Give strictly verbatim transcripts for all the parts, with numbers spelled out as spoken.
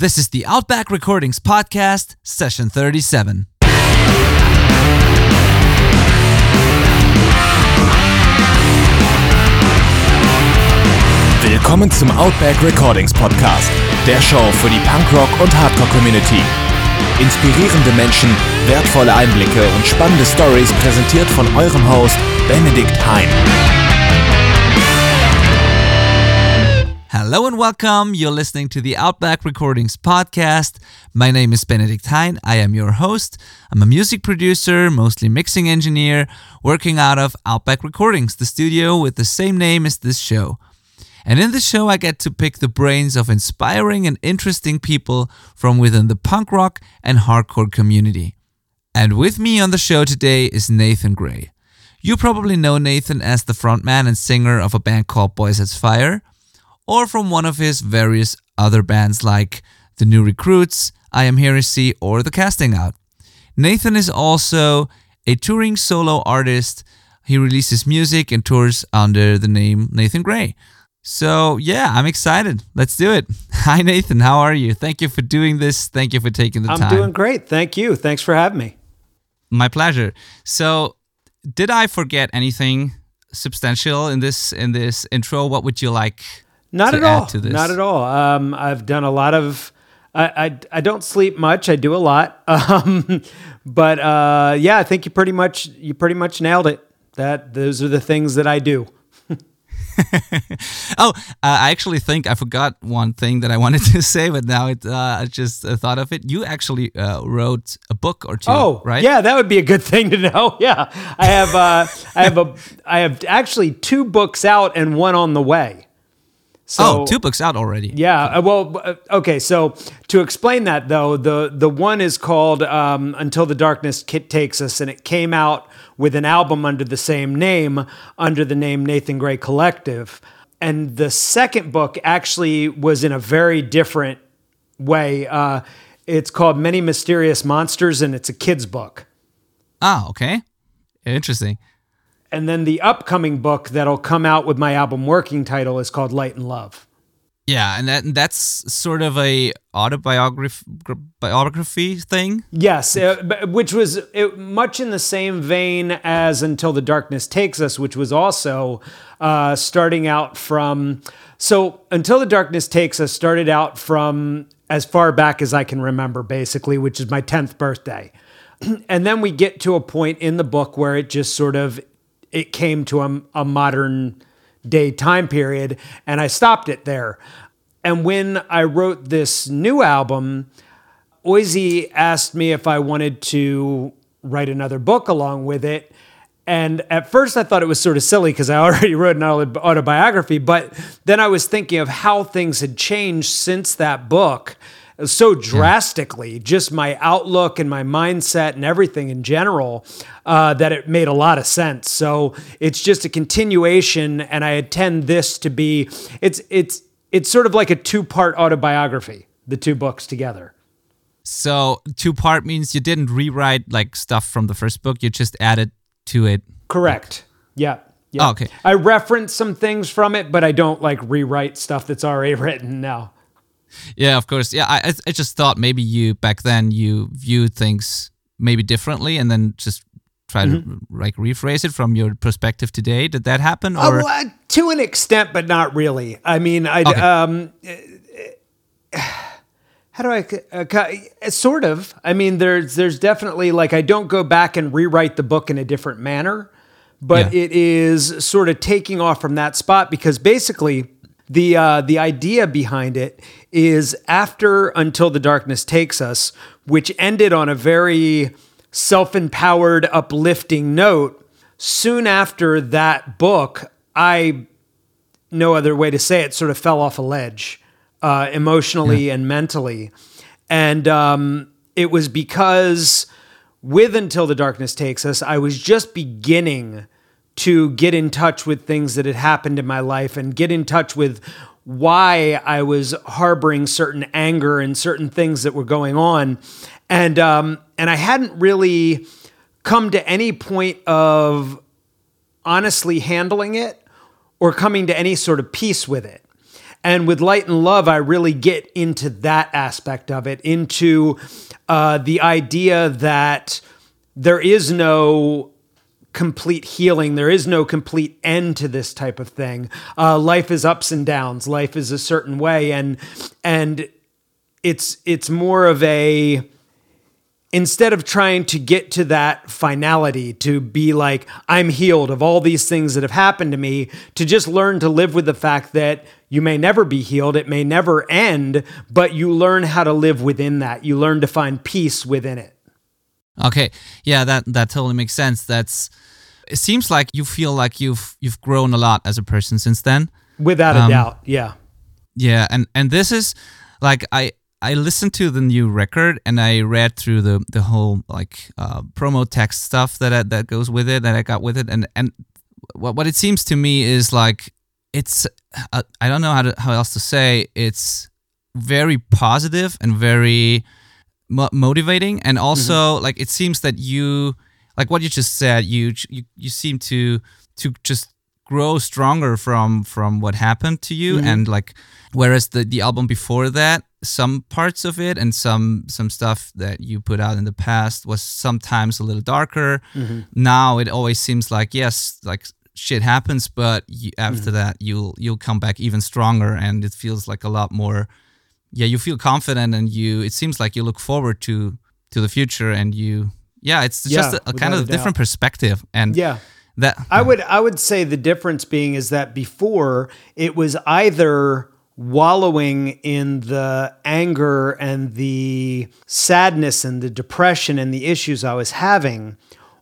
This is the Outback Recordings Podcast, Session thirty-seven. Willkommen zum Outback Recordings Podcast, der Show für die Punkrock- und Hardcore-Community. Inspirierende Menschen, wertvolle Einblicke und spannende Stories präsentiert von eurem Host Benedikt Hein. Hello and welcome. You're listening to the Outback Recordings Podcast. My name is Benedikt Hein. I am your host. I'm a music producer, mostly mixing engineer, working out of Outback Recordings, the studio with the same name as this show. And in this show, I get to pick the brains of inspiring and interesting people from within the punk rock and hardcore community. And with me on the show today is Nathan Gray. You probably know Nathan as the frontman and singer of a band called Boys As Fire, or from one of his various other bands like The New Recruits, I Am Heresy, or The Casting Out. Nathan is also a touring solo artist. He releases music and tours under the name Nathan Gray. So yeah, I'm excited. Let's do it. Hi Nathan, how are you? Thank you for doing this. Thank you for taking the I'm time. I'm doing great. Thank you. Thanks for having me. My pleasure. So, did I forget anything substantial in this in this intro? What would you like Not to at add all. to this? Not at all. Um, I've done a lot of. I, I I don't sleep much. I do a lot. Um, but uh, yeah, I think you pretty much you pretty much nailed it. That those are the things that I do. oh, uh, I actually think I forgot one thing that I wanted to say, but now it, uh, I just uh, thought of it. You actually uh, wrote a book or two, oh, right? Yeah, that would be a good thing to know. Yeah, I have. Uh, I have a. I have actually two books out and one on the way. So, oh, two books out already. Yeah. Well, okay. So to explain that though, the the one is called um, Until the Darkness Takes Us, and it came out with an album under the same name, under the name Nathan Gray Collective. And the second book actually was in a very different way. Uh, it's called Many Mysterious Monsters, and it's a kid's book. Ah, okay. Interesting. And then the upcoming book that'll come out with my album working title is called Light and Love. Yeah, and that that's sort of a autobiography biography thing. Yes, uh, which was it, much in the same vein as Until the Darkness Takes Us, which was also uh, starting out from. So Until the Darkness Takes Us started out from as far back as I can remember, basically, which is my tenth birthday. And then we get to a point in the book where it just sort of it came to a, a modern day time period, and I stopped it there. And when I wrote this new album, Ozzy asked me if I wanted to write another book along with it. And at first I thought it was sort of silly because I already wrote an autobiography, but then I was thinking of how things had changed since that book so drastically, just my outlook and my mindset and everything in general, uh, that it made a lot of sense. So it's just a continuation, and I intend this to be, it's it's it's sort of like a two-part autobiography, the two books together. So two-part means you didn't rewrite like stuff from the first book, you just added to it. Correct. Yeah. Yeah. Oh, okay. I reference some things from it, but I don't like rewrite stuff that's already written now. Yeah, of course. Yeah, I I just thought maybe you back then you viewed things maybe differently, and then just try mm-hmm. to like rephrase it from your perspective today. Did that happen? Or oh, uh, to an extent, but not really. I mean, I okay. um, how do I uh, sort of? I mean, there's there's definitely like I don't go back and rewrite the book in a different manner, but yeah. It is sort of taking off from that spot because basically. The uh, the idea behind it is after Until the Darkness Takes Us, which ended on a very self-empowered, uplifting note, soon after that book, I, no other way to say it, sort of fell off a ledge, uh, emotionally yeah. and mentally. And um, it was because with Until the Darkness Takes Us, I was just beginning to get in touch with things that had happened in my life and get in touch with why I was harboring certain anger and certain things that were going on. And um, and I hadn't really come to any point of honestly handling it or coming to any sort of peace with it. And with Light and Love, I really get into that aspect of it, into uh, the idea that there is no complete healing. There is no complete end to this type of thing. Uh, life is ups and downs. Life is a certain way. And, and it's, it's more of a, instead of trying to get to that finality, to be like, I'm healed of all these things that have happened to me, to just learn to live with the fact that you may never be healed, it may never end, but you learn how to live within that. You learn to find peace within it. Okay, yeah, that that totally makes sense. That's. It seems like you feel like you've you've grown a lot as a person since then. Without um, a doubt, yeah. Yeah, and and this is like I I listened to the new record and I read through the the whole like uh, promo text stuff that I, that goes with it that I got with it, and and what what it seems to me is like it's uh, I don't know how to, how else to say, it's very positive and very mo- motivating, and also mm-hmm. like it seems that you. Like what you just said, you you you seem to to just grow stronger from from what happened to you, mm-hmm. and like whereas the, the album before that, some parts of it and some some stuff that you put out in the past was sometimes a little darker. Mm-hmm. Now it always seems like yes, like shit happens, but you, after mm-hmm. that you'll you'll come back even stronger, and it feels like a lot more. Yeah, you feel confident, and you. It seems like you look forward to to the future, and you. Yeah, it's just yeah, a, a kind of a different perspective, and yeah, that I would I would say the difference being is that before it was either wallowing in the anger and the sadness and the depression and the issues I was having,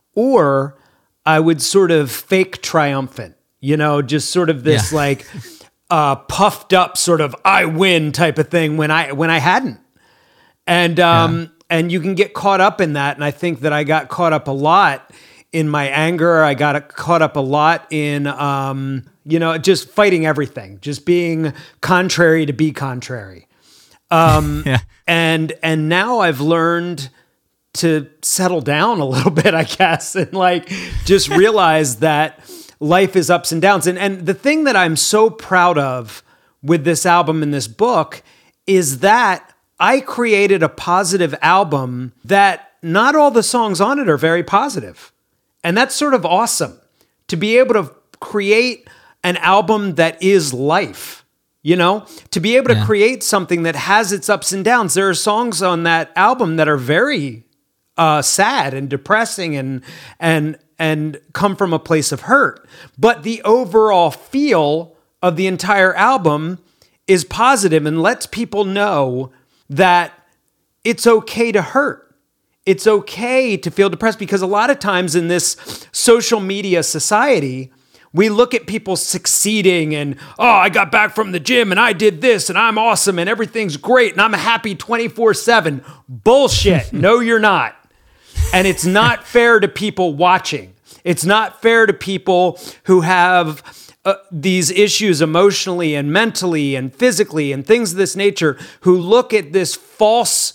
or I would sort of fake triumphant, you know, just sort of this yeah. like uh, puffed up sort of I win type of thing when I when I hadn't, and. um yeah. And you can get caught up in that. And I think that I got caught up a lot in my anger. I got caught up a lot in, um, you know, just fighting everything, just being contrary to be contrary. Um, yeah. And and now I've learned to settle down a little bit, I guess, and like just realize that life is ups and downs. And, and the thing that I'm so proud of with this album and this book is that I created a positive album that not all the songs on it are very positive. And that's sort of awesome to be able to create an album that is life, you know, to be able to yeah. create something that has its ups and downs. There are songs on that album that are very uh, sad and depressing and, and, and come from a place of hurt. But the overall feel of the entire album is positive and lets people know that it's okay to hurt. It's okay to feel depressed, because a lot of times in this social media society, we look at people succeeding and, oh, I got back from the gym and I did this and I'm awesome and everything's great and I'm happy twenty-four seven. Bullshit. No, you're not. And it's not fair to people watching. It's not fair to people who have Uh, these issues emotionally and mentally and physically and things of this nature, who look at this false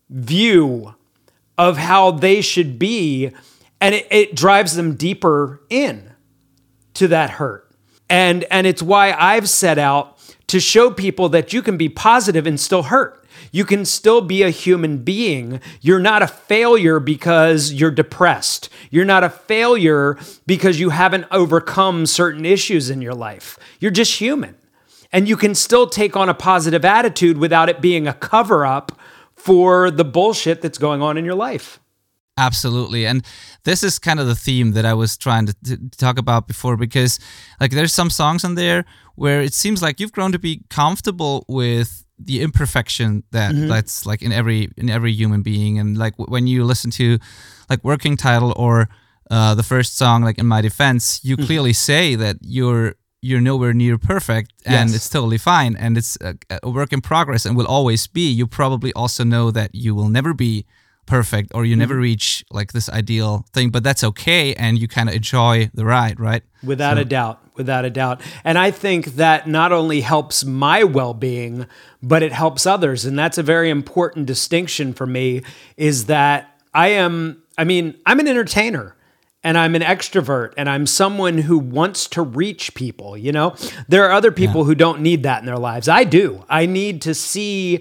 view of how they should be, and it, it drives them deeper in to that hurt. And, and it's why I've set out to show people that you can be positive and still hurt. You can still be a human being. You're not a failure because you're depressed. You're not a failure because you haven't overcome certain issues in your life. You're just human. And you can still take on a positive attitude without it being a cover-up for the bullshit that's going on in your life. Absolutely. And this is kind of the theme that I was trying to, to talk about before, because like there's some songs on there where it seems like you've grown to be comfortable with the imperfection that mm-hmm. that's like in every in every human being. And like w- when you listen to like Working Title or uh, the first song, like In My Defense, you mm-hmm. clearly say that you're you're nowhere near perfect, and yes. it's totally fine, and it's a, a work in progress and will always be. You probably also know that you will never be perfect, or you mm-hmm. never reach like this ideal thing, but that's okay, and you kind of enjoy the ride, right? Without so. a doubt, without a doubt. And I think that not only helps my well-being, but it helps others, and that's a very important distinction for me, is that I am, I mean, I'm an entertainer, and I'm an extrovert and I'm someone who wants to reach people, you know? There are other people yeah. who don't need that in their lives. I do. I need to see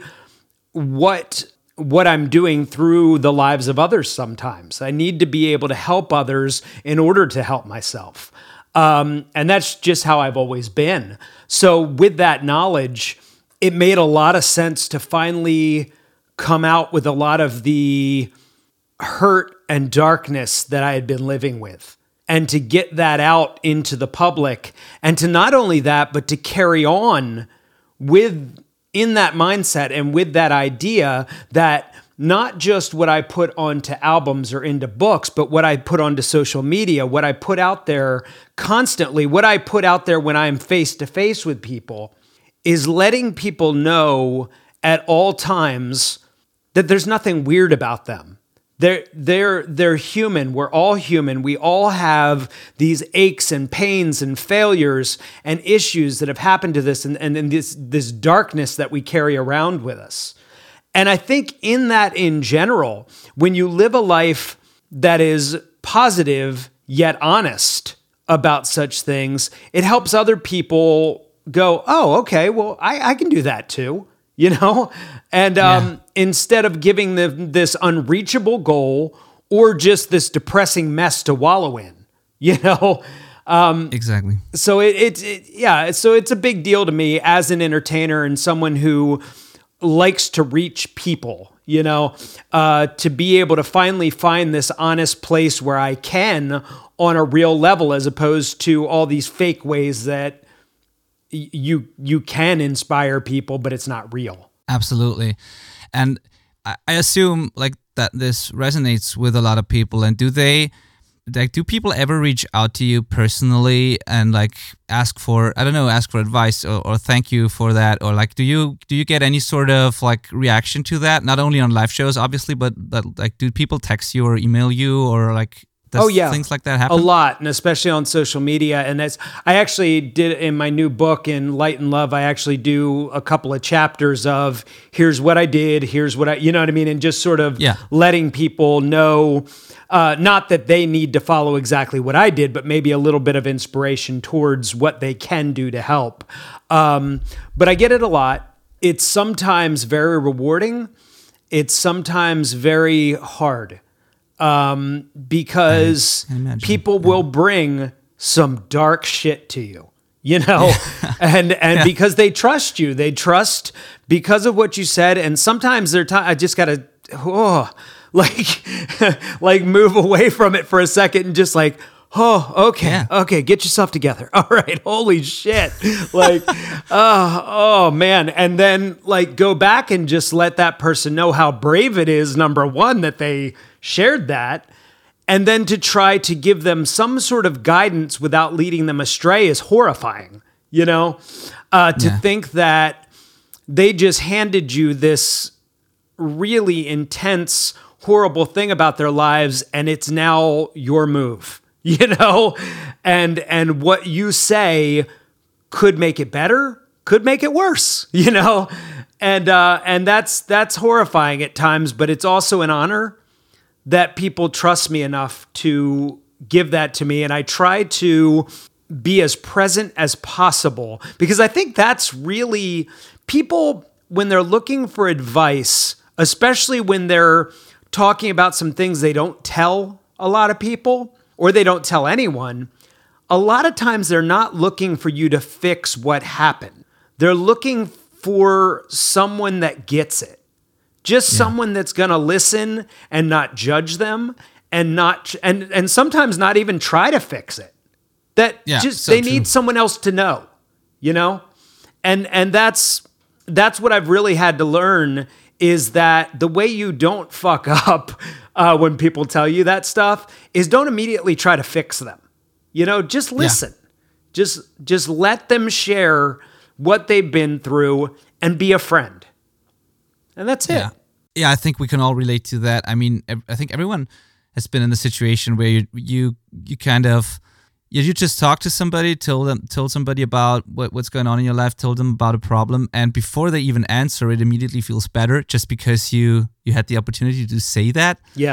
what what I'm doing through the lives of others sometimes. I need to be able to help others in order to help myself. Um, and that's just how I've always been. So with that knowledge, it made a lot of sense to finally come out with a lot of the hurt and darkness that I had been living with, and to get that out into the public, and to not only that, but to carry on with in that mindset and with that idea that not just what I put onto albums or into books, but what I put onto social media, what I put out there constantly, what I put out there when I'm face to face with people, is letting people know at all times that there's nothing weird about them. They're, they're, they're human. We're all human. We all have these aches and pains and failures and issues that have happened to this and, and, and this, this darkness that we carry around with us. And I think in that in general, when you live a life that is positive yet honest about such things, it helps other people go, oh, okay, well, I, I can do that too. You know, and um, yeah. instead of giving them this unreachable goal or just this depressing mess to wallow in, you know, um, exactly. So it, it, it, yeah, so it's a big deal to me as an entertainer and someone who likes to reach people, you know, uh, to be able to finally find this honest place where I can on a real level, as opposed to all these fake ways that you you can inspire people, but it's not real. Absolutely. And I assume like that this resonates with a lot of people. And do they, like, do people ever reach out to you personally and like ask for, I don't know, ask for advice or, or thank you for that? Or like, do you do you get any sort of like reaction to that? Not only on live shows, obviously, but, but like, do people text you or email you or like, Does oh yeah, things like that happen? A lot, and especially on social media. And that's I actually did in my new book in Light and Love. I actually do a couple of chapters of here's what I did, here's what I, you know what I mean, and just sort of yeah. letting people know, uh, not that they need to follow exactly what I did, but maybe a little bit of inspiration towards what they can do to help. Um, but I get it a lot. It's sometimes very rewarding. It's sometimes very hard. Um, because people will bring some dark shit to you, you know, and, and yeah. because they trust you, they trust because of what you said. And sometimes they're, t- I just gotta, oh, like, like move away from it for a second and just like, oh, okay, yeah. okay, get yourself together. All right, holy shit. Like, oh, oh man. And then like go back and just let that person know how brave it is, number one, that they shared that. And then to try to give them some sort of guidance without leading them astray is horrifying, you know? Uh, to yeah. think that they just handed you this really intense, horrible thing about their lives and it's now your move. You know, and and what you say could make it better, could make it worse. You know, and uh, and that's that's horrifying at times, but it's also an honor that people trust me enough to give that to me, and I try to be as present as possible because I think that's really people when they're looking for advice, especially when they're talking about some things they don't tell a lot of people. Or they don't tell anyone, a lot of times they're not looking for you to fix what happened. They're looking for someone that gets it. Just yeah. someone that's going to listen and not judge them and not and and sometimes not even try to fix it. That yeah, just so they true. Need someone else to know, you know? And and that's that's what I've really had to learn is that the way you don't fuck up uh, when people tell you that stuff is don't immediately try to fix them. You know, just listen. Yeah. Just just let them share what they've been through and be a friend. And that's yeah. it. Yeah, I think we can all relate to that. I mean, I think everyone has been in the situation where you you, you kind of you just talk to somebody, told them, told somebody about what, what's going on in your life, told them about a problem, and before they even answer, it immediately feels better just because you you had the opportunity to say that. Yeah.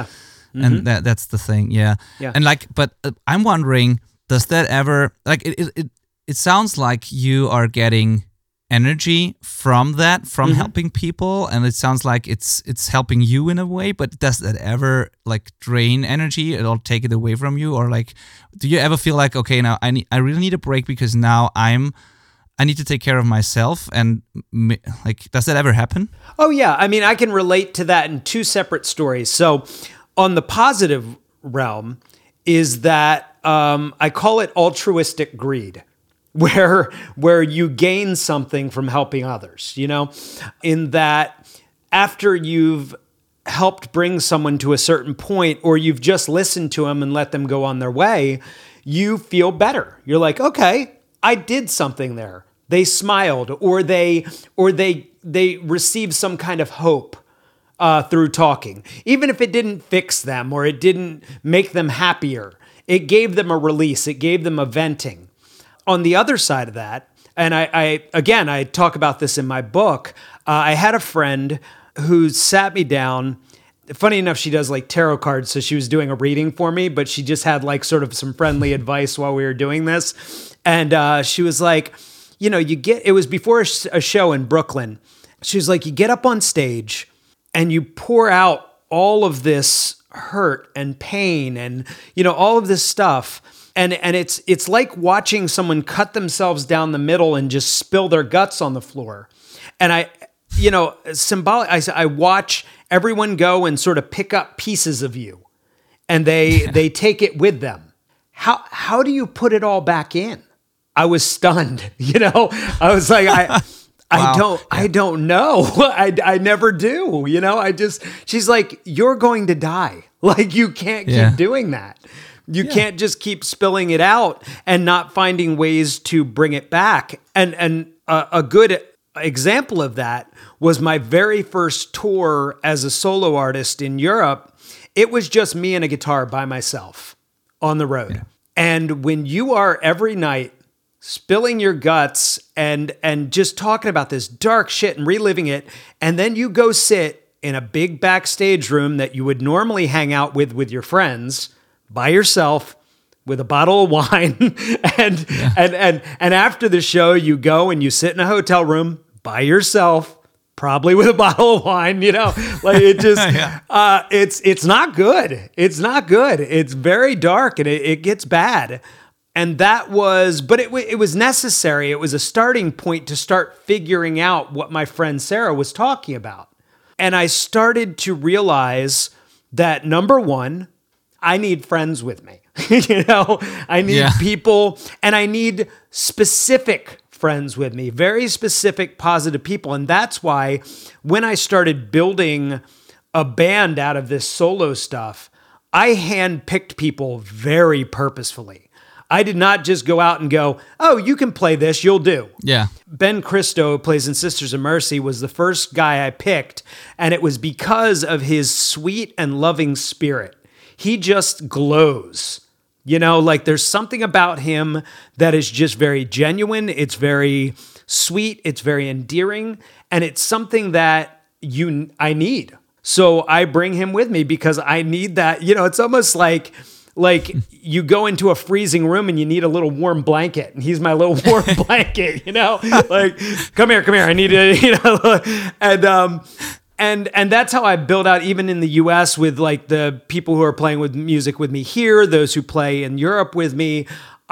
Mm-hmm. And that that's the thing, yeah. Yeah. And like, but uh, I'm wondering, does that ever like it? It it, it sounds like you are getting energy from that, from Mm-hmm. helping people, and it sounds like it's it's helping you in a way. But does that ever like drain energy or take it away from you, or like, do you ever feel like, okay, now I need, I really need a break because now I'm, I need to take care of myself, and m- like, does that ever happen? Oh, yeah. I mean, I can relate to that in two separate stories. So on the positive realm is that um, I call it altruistic greed, where where you gain something from helping others, you know, in that after you've helped bring someone to a certain point, or you've just listened to them and let them go on their way, you feel better. You're like, okay, I did something there. They smiled, or they or they they received some kind of hope uh, through talking. Even if it didn't fix them or it didn't make them happier, it gave them a release. It gave them a venting. On the other side of that, and I, I again, I talk about this in my book, uh, I had a friend who sat me down. Funny enough, she does like tarot cards, so she was doing a reading for me, but she just had like sort of some friendly advice while we were doing this. And uh, she was like, you know, you get, it was before a, sh- a show in Brooklyn. She was like, you get up on stage and you pour out all of this hurt and pain and, you know, all of this stuff. And and it's it's like watching someone cut themselves down the middle and just spill their guts on the floor. And I, you know, symbolic, I, I watch everyone go and sort of pick up pieces of you, and they they take it with them. How how do you put it all back in? I was stunned. You know, I was like, I I Wow. don't Yeah. I don't know. I I never do. You know, I just she's like, you're going to die. Like, you can't keep Yeah. doing that. You can't just keep spilling it out and not finding ways to bring it back. And and a, a good example of that was my very first tour as a solo artist in Europe. It was just me and a guitar by myself on the road. Yeah. And when you are every night spilling your guts and and just talking about this dark shit and reliving it, and then you go sit in a big backstage room that you would normally hang out with with your friends, by yourself with a bottle of wine, and Yeah. and and and after the show you go and you sit in a hotel room by yourself, probably with a bottle of wine, you know, like it just Yeah. uh it's it's not good. It's not good. It's very dark, and it, it gets bad. And that was, but it wa- it was necessary. It was a starting point to start figuring out what my friend Sarah was talking about. And I started to realize that, number one, I need friends with me. You know, I need Yeah. people, and I need specific friends with me, very specific, positive people. And that's why when I started building a band out of this solo stuff, I handpicked people very purposefully. I did not just go out and go, oh, you can play this, you'll do. Yeah. Ben Christo, who plays in Sisters of Mercy, was the first guy I picked, and it was because of his sweet and loving spirit. He just glows. You know, like there's something about him that is just very genuine. It's very sweet. It's very endearing. And it's something that you I need. So I bring him with me because I need that. You know, it's almost like like you go into a freezing room and you need a little warm blanket, and he's my little warm blanket, you know, like, come here, come here. I need it, you know, and, um, And and that's how I build out, even in the U S, with like the people who are playing with music with me here, those who play in Europe with me.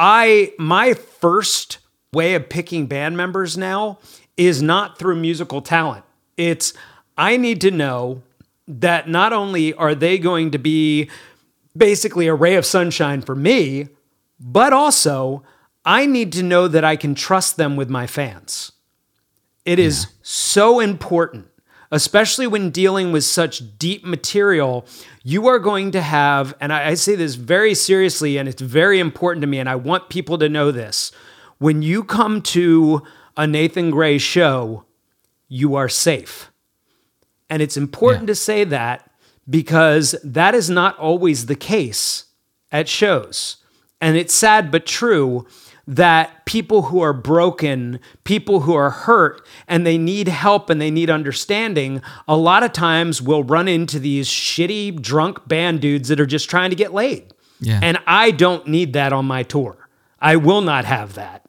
I my first way of picking band members now is not through musical talent. It's, I need to know that not only are they going to be basically a ray of sunshine for me, but also I need to know that I can trust them with my fans. It is so important. Especially when dealing with such deep material, you are going to have, and I, I say this very seriously, and it's very important to me, and I want people to know this. When you come to a Nathan Gray show, you are safe. And it's important Yeah. to say that because that is not always the case at shows. And it's sad but true that people who are broken, people who are hurt, and they need help and they need understanding, a lot of times will run into these shitty, drunk band dudes that are just trying to get laid. Yeah. And I don't need that on my tour. I will not have that.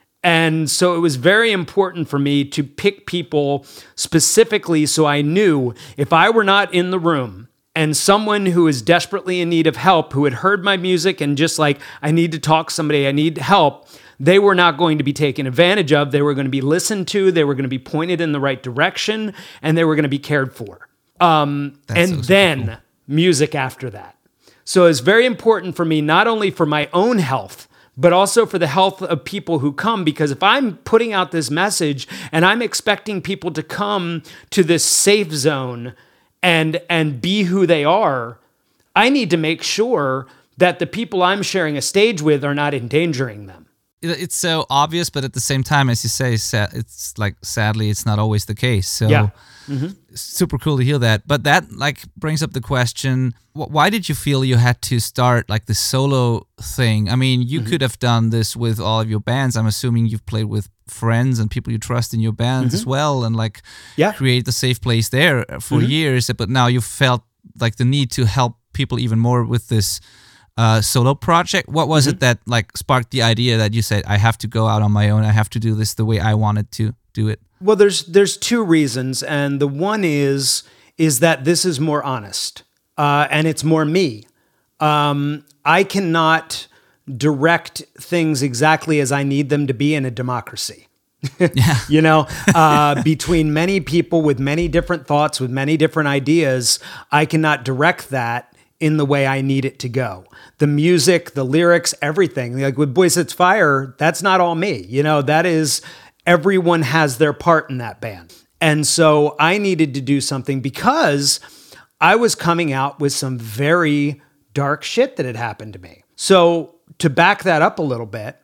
And so it was very important for me to pick people specifically so I knew if I were not in the room and someone who is desperately in need of help, who had heard my music and just like, I need to talk to somebody, I need help, they were not going to be taken advantage of. They were going to be listened to. They were going to be pointed in the right direction, and they were going to be cared for. Um, and so then cool. music after that. So it's very important for me, not only for my own health, but also for the health of people who come. Because if I'm putting out this message and I'm expecting people to come to this safe zone and, and be who they are, I need to make sure that the people I'm sharing a stage with are not endangering them. It's so obvious, but at the same time, as you say, it's like, sadly, it's not always the case. So yeah. Mm-hmm. Super cool to hear that. But that like brings up the question, why did you feel you had to start like the solo thing? I mean, you mm-hmm. could have done this with all of your bands. I'm assuming you've played with friends and people you trust in your bands mm-hmm. as well, and like yeah. create the safe place there for mm-hmm. years. But now you felt like the need to help people even more with this uh, solo project. What was mm-hmm. it that like sparked the idea that you said, I have to go out on my own, I have to do this the way I wanted to do it? Well, there's there's two reasons, and the one is is that this is more honest, uh, and it's more me. Um, I cannot direct things exactly as I need them to be in a democracy. Yeah. You know, uh, between many people with many different thoughts, with many different ideas, I cannot direct that in the way I need it to go. The music, the lyrics, everything. Like with Boy Sets Fire, that's not all me. You know, that is... Everyone has their part in that band. And so I needed to do something because I was coming out with some very dark shit that had happened to me. So to back that up a little bit,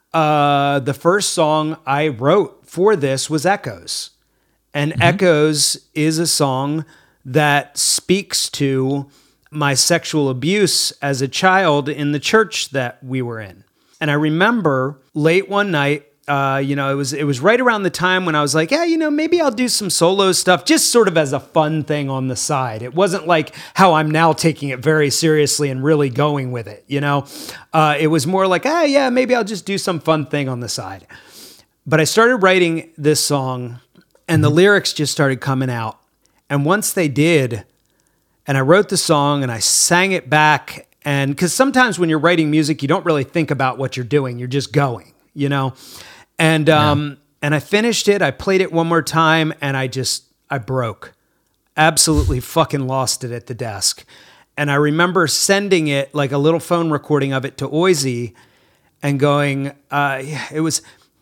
uh, the first song I wrote for this was Echoes. And mm-hmm. Echoes is a song that speaks to my sexual abuse as a child in the church that we were in. And I remember late one night, Uh, you know, it was it was right around the time when I was like, yeah, you know, maybe I'll do some solo stuff, just sort of as a fun thing on the side. It wasn't like how I'm now taking it very seriously and really going with it, you know. Uh, it was more like, ah, yeah, maybe I'll just do some fun thing on the side. But I started writing this song, and the lyrics just started coming out. And once they did, and I wrote the song, and I sang it back, and because sometimes when you're writing music, you don't really think about what you're doing. You're just going, you know. And um, yeah. and I finished it. I played it one more time, and I just I broke, absolutely fucking lost it at the desk. And I remember sending it like a little phone recording of it to Oisey, and going, uh, it was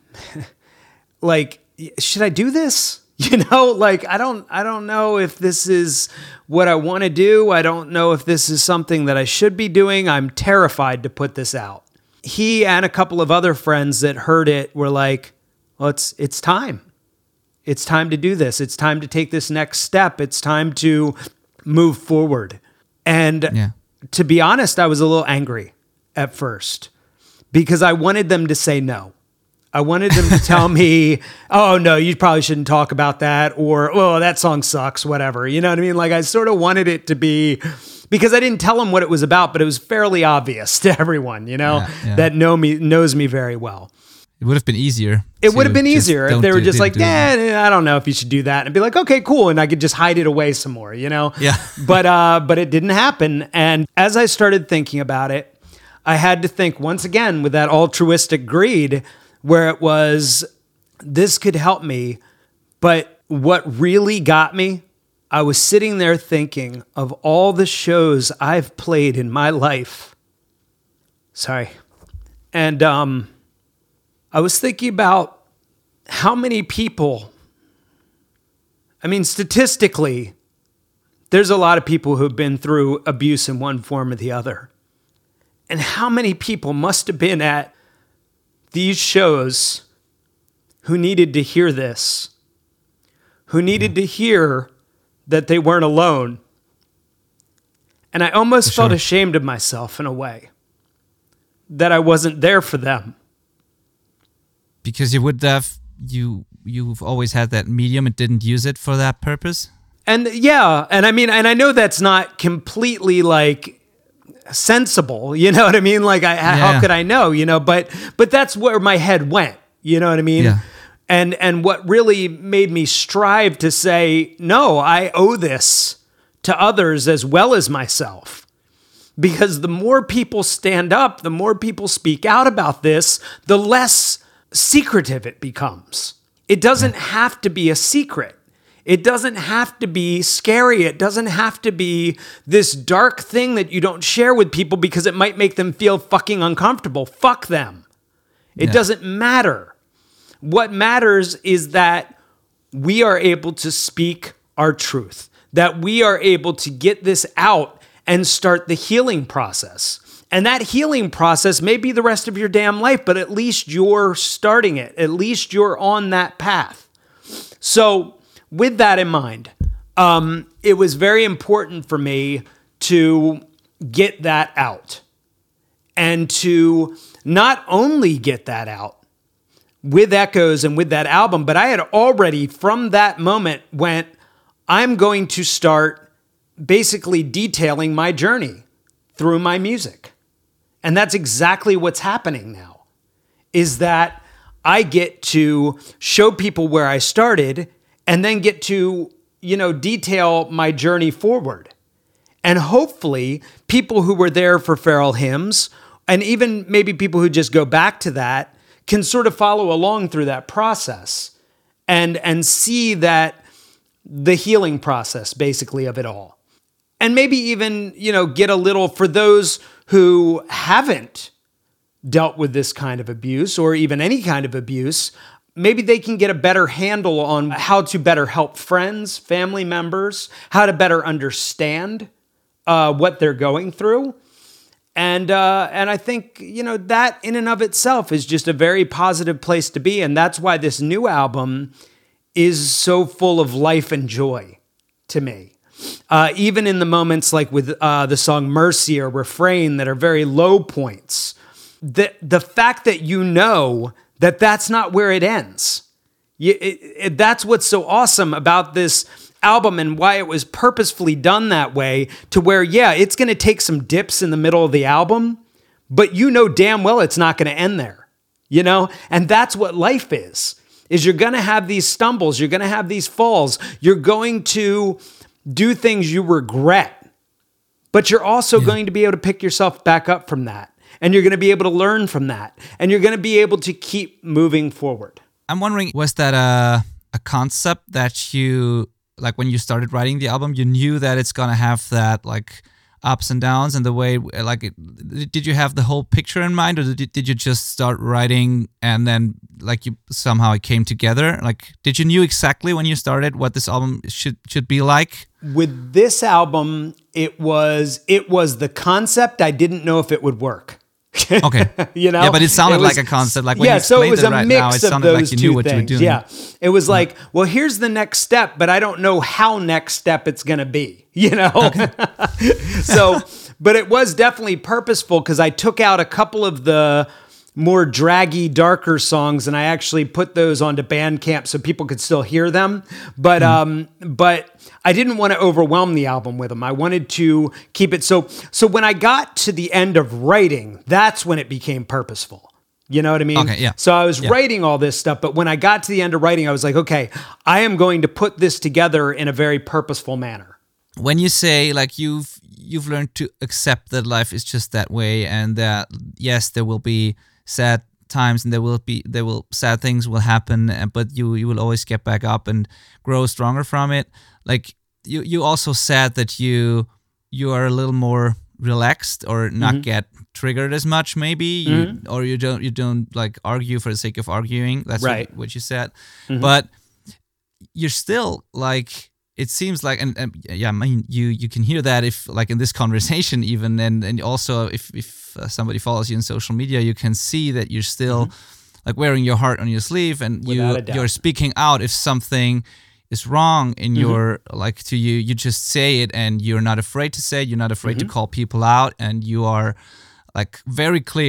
like, should I do this? You know, like I don't I don't know if this is what I want to do. I don't know if this is something that I should be doing. I'm terrified to put this out. He and a couple of other friends that heard it were like, well, it's it's time. It's time to do this. It's time to take this next step. It's time to move forward. And yeah. to be honest, I was a little angry at first because I wanted them to say no. I wanted them to tell me, oh, no, you probably shouldn't talk about that, or, oh, that song sucks, whatever. You know what I mean? Like, I sort of wanted it to be, because I didn't tell them what it was about, but it was fairly obvious to everyone, you know, yeah, yeah. that know me knows me very well. It would have been easier. It would have been easier if they were just like, yeah, eh, I don't know if you should do that. And I'd be like, okay, cool. And I could just hide it away some more, you know? Yeah. but, uh, but it didn't happen. And as I started thinking about it, I had to think once again with that altruistic greed where it was, this could help me. But what really got me, I was sitting there thinking of all the shows I've played in my life. Sorry. And um, I was thinking about how many people, I mean, statistically, there's a lot of people who've been through abuse in one form or the other. And how many people must have been at these shows who needed to hear this, who needed to hear that they weren't alone. And I almost For felt sure. ashamed of myself in a way, that I wasn't there for them. Because you would have you you've always had that medium and didn't use it for that purpose. And yeah, and I mean, and I know that's not completely like sensible, you know what I mean? Like, I, yeah. how could I know, you know? But but that's where my head went, you know what I mean? Yeah. And and what really made me strive to say, no, I owe this to others as well as myself. Because the more people stand up, the more people speak out about this, the less secretive it becomes. It doesn't have to be a secret. It doesn't have to be scary. It doesn't have to be this dark thing that you don't share with people because it might make them feel fucking uncomfortable. Fuck them. It Yeah. doesn't matter. What matters is that we are able to speak our truth, that we are able to get this out and start the healing process. And that healing process may be the rest of your damn life, but at least you're starting it. At least you're on that path. So with that in mind, um, it was very important for me to get that out and to not only get that out with Echoes and with that album, but I had already from that moment went, I'm going to start basically detailing my journey through my music. And that's exactly what's happening now, is that I get to show people where I started and then get to, you know, detail my journey forward. And hopefully people who were there for Feral Hymns, and even maybe people who just go back to that, can sort of follow along through that process and, and see that the healing process basically of it all. And maybe even, you know, get a little, for those who haven't dealt with this kind of abuse or even any kind of abuse, maybe they can get a better handle on how to better help friends, family members, how to better understand uh, what they're going through. And uh, and I think, you know, that in and of itself is just a very positive place to be. And that's why this new album is so full of life and joy to me. Uh, even in the moments like with uh, the song Mercy or Refrain that are very low points, the, the fact that you know that that's not where it ends. You, it, it, that's what's so awesome about this album and why it was purposefully done that way, to where, yeah, it's going to take some dips in the middle of the album, but you know damn well it's not going to end there, you know? And that's what life is, is you're going to have these stumbles, you're going to have these falls, you're going to do things you regret, but you're also yeah. going to be able to pick yourself back up from that. And you're going to be able to learn from that. And you're going to be able to keep moving forward. I'm wondering, was that a, a concept that you, like when you started writing the album, you knew that it's going to have that like ups and downs and the way, like, it, did you have the whole picture in mind, or did, did you just start writing and then like you somehow it came together? Like, did you knew exactly when you started what this album should should be like? With this album, it was it was the concept. I didn't know if it would work. Okay. You know? Yeah, but it sounded it was, like a concept. Like when yeah, you so it was it a right mix now, it of sounded those like you two knew what things. you were doing. Yeah, it was like, well, here's the next step, but I don't know how next step it's going to be. You know, okay. So, but it was definitely purposeful because I took out a couple of the more draggy, darker songs, and I actually put those onto Bandcamp so people could still hear them. But mm. um, but I didn't want to overwhelm the album with them. I wanted to keep it so. So when I got to the end of writing, that's when it became purposeful. You know what I mean? Okay, yeah. So I was yeah. writing all this stuff, but when I got to the end of writing, I was like, okay, I am going to put this together in a very purposeful manner. When you say like you've you've learned to accept that life is just that way, and that yes, there will be sad times and there will be there will sad things will happen, but you you will always get back up and grow stronger from it. Like you you also said that you you are a little more relaxed or not mm-hmm. get triggered as much, maybe you, mm-hmm. or you don't you don't like argue for the sake of arguing. That's right. what, what you said. Mm-hmm. But you're still like, it seems like, and, and yeah, I mean, you you can hear that if like in this conversation even, and and also if if uh, somebody follows you in social media, you can see that you're still mm-hmm. like wearing your heart on your sleeve, and Without you you're speaking out if something is wrong in mm-hmm. your, like to you, you just say it, and you're not afraid to say it, you're not afraid mm-hmm. to call people out, and you are like very clear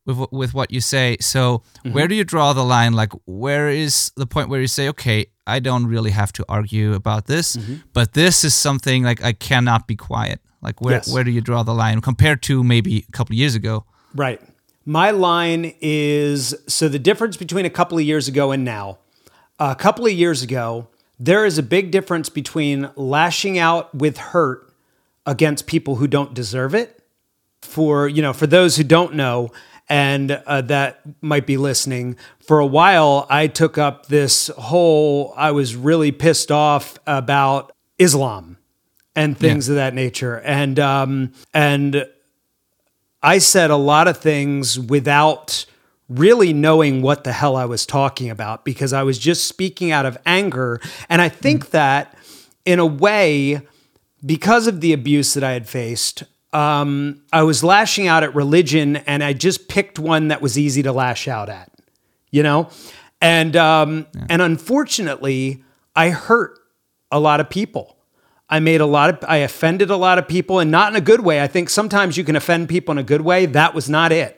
with with what you say. So mm-hmm. where do you draw the line? Like, where is the point where you say, okay, I don't really have to argue about this, mm-hmm. but this is something like I cannot be quiet. Like, where yes. where do you draw the line compared to maybe a couple of years ago? Right. My line is, so the difference between a couple of years ago and now, a couple of years ago, there is a big difference between lashing out with hurt against people who don't deserve it. For, you know, for those who don't know, and uh, that might be listening, for a while, I took up this whole, I was really pissed off about Islam and things yeah. of that nature. And, um, and I said a lot of things without really knowing what the hell I was talking about, because I was just speaking out of anger. And I think mm. that in a way, because of the abuse that I had faced, Um, I was lashing out at religion, and I just picked one that was easy to lash out at, you know? And, um, yeah. and unfortunately, I hurt a lot of people. I made a lot of, I offended a lot of people, and not in a good way. I think sometimes you can offend people in a good way. That was not it.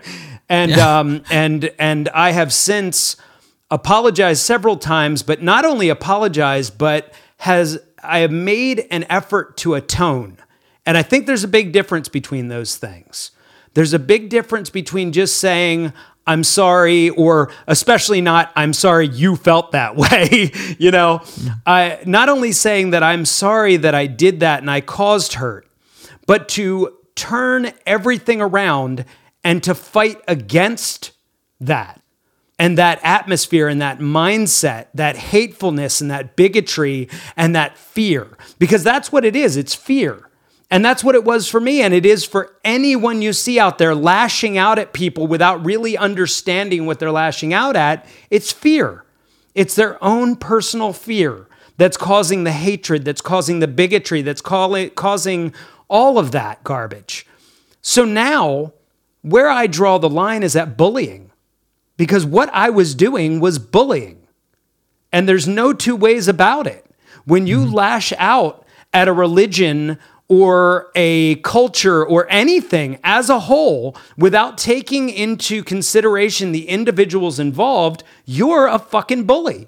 and, yeah. um, and, and I have since apologized several times, but not only apologized, but has, I have made an effort to atone. And I think there's a big difference between those things. There's a big difference between just saying, I'm sorry, or especially not, I'm sorry you felt that way. you know, yeah. I, not only saying that I'm sorry that I did that and I caused hurt, but to turn everything around and to fight against that. And that atmosphere and that mindset, that hatefulness and that bigotry and that fear, because that's what it is. It's fear. And that's what it was for me, and it is for anyone you see out there lashing out at people without really understanding what they're lashing out at. It's fear. It's their own personal fear that's causing the hatred, that's causing the bigotry, that's causing all of that garbage. So now, where I draw the line is at bullying, because what I was doing was bullying. And there's no two ways about it. When you mm-hmm. lash out at a religion or a culture or anything as a whole without taking into consideration the individuals involved, you're a fucking bully.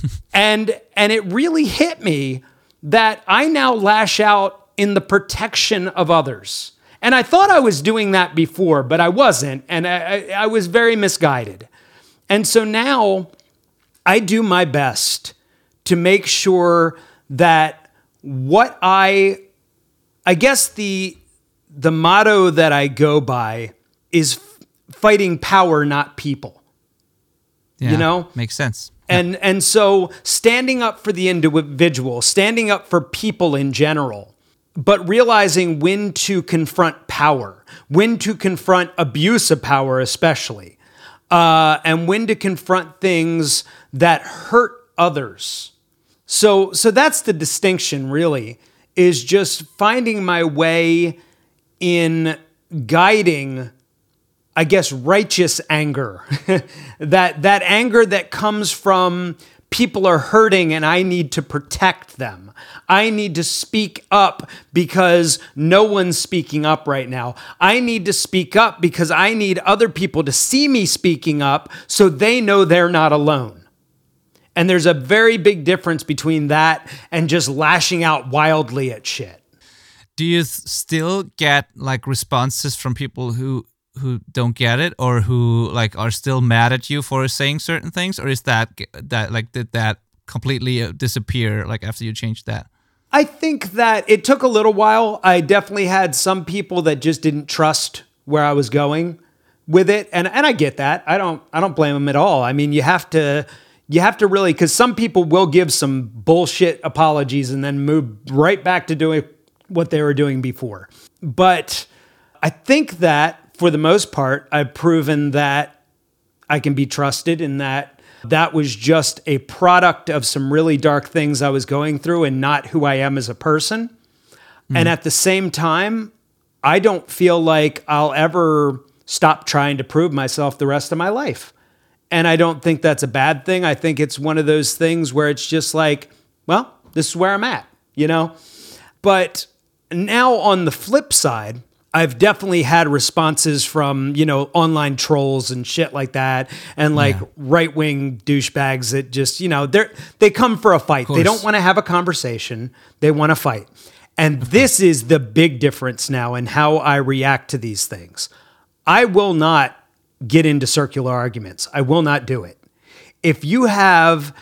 and and it really hit me that I now lash out in the protection of others. And I thought I was doing that before, but I wasn't, and I, I was very misguided. And so now I do my best to make sure that what I I guess the the motto that I go by is f- fighting power, not people. Yeah, you know? Makes sense. And yeah. and so standing up for the individual, standing up for people in general, but realizing when to confront power, when to confront abuse of power especially, uh, and when to confront things that hurt others. So so that's the distinction, really, is just finding my way in guiding, I guess, righteous anger. that that anger that comes from people are hurting and I need to protect them. I need to speak up because no one's speaking up right now. I need to speak up because I need other people to see me speaking up so they know they're not alone. And there's a very big difference between that and just lashing out wildly at shit. Do you th- still get like responses from people who who don't get it, or who like are still mad at you for saying certain things, or is that that like did that completely disappear like after you changed that? I think that it took a little while. I definitely had some people that just didn't trust where I was going with it, and and I get that. I don't I don't blame them at all. I mean, you have to. You have to really, because some people will give some bullshit apologies and then move right back to doing what they were doing before. But I think that for the most part, I've proven that I can be trusted, and that that was just a product of some really dark things I was going through and not who I am as a person. Mm. And at the same time, I don't feel like I'll ever stop trying to prove myself the rest of my life. And I don't think that's a bad thing. I think it's one of those things where it's just like, well, this is where I'm at, you know? But now on the flip side, I've definitely had responses from, you know, online trolls and shit like that. And like yeah. right wing douchebags that just, you know, they're, they come for a fight. They don't want to have a conversation. They want to fight. And this is the big difference now in how I react to these things. I will not get into circular arguments. I will not do it. If you have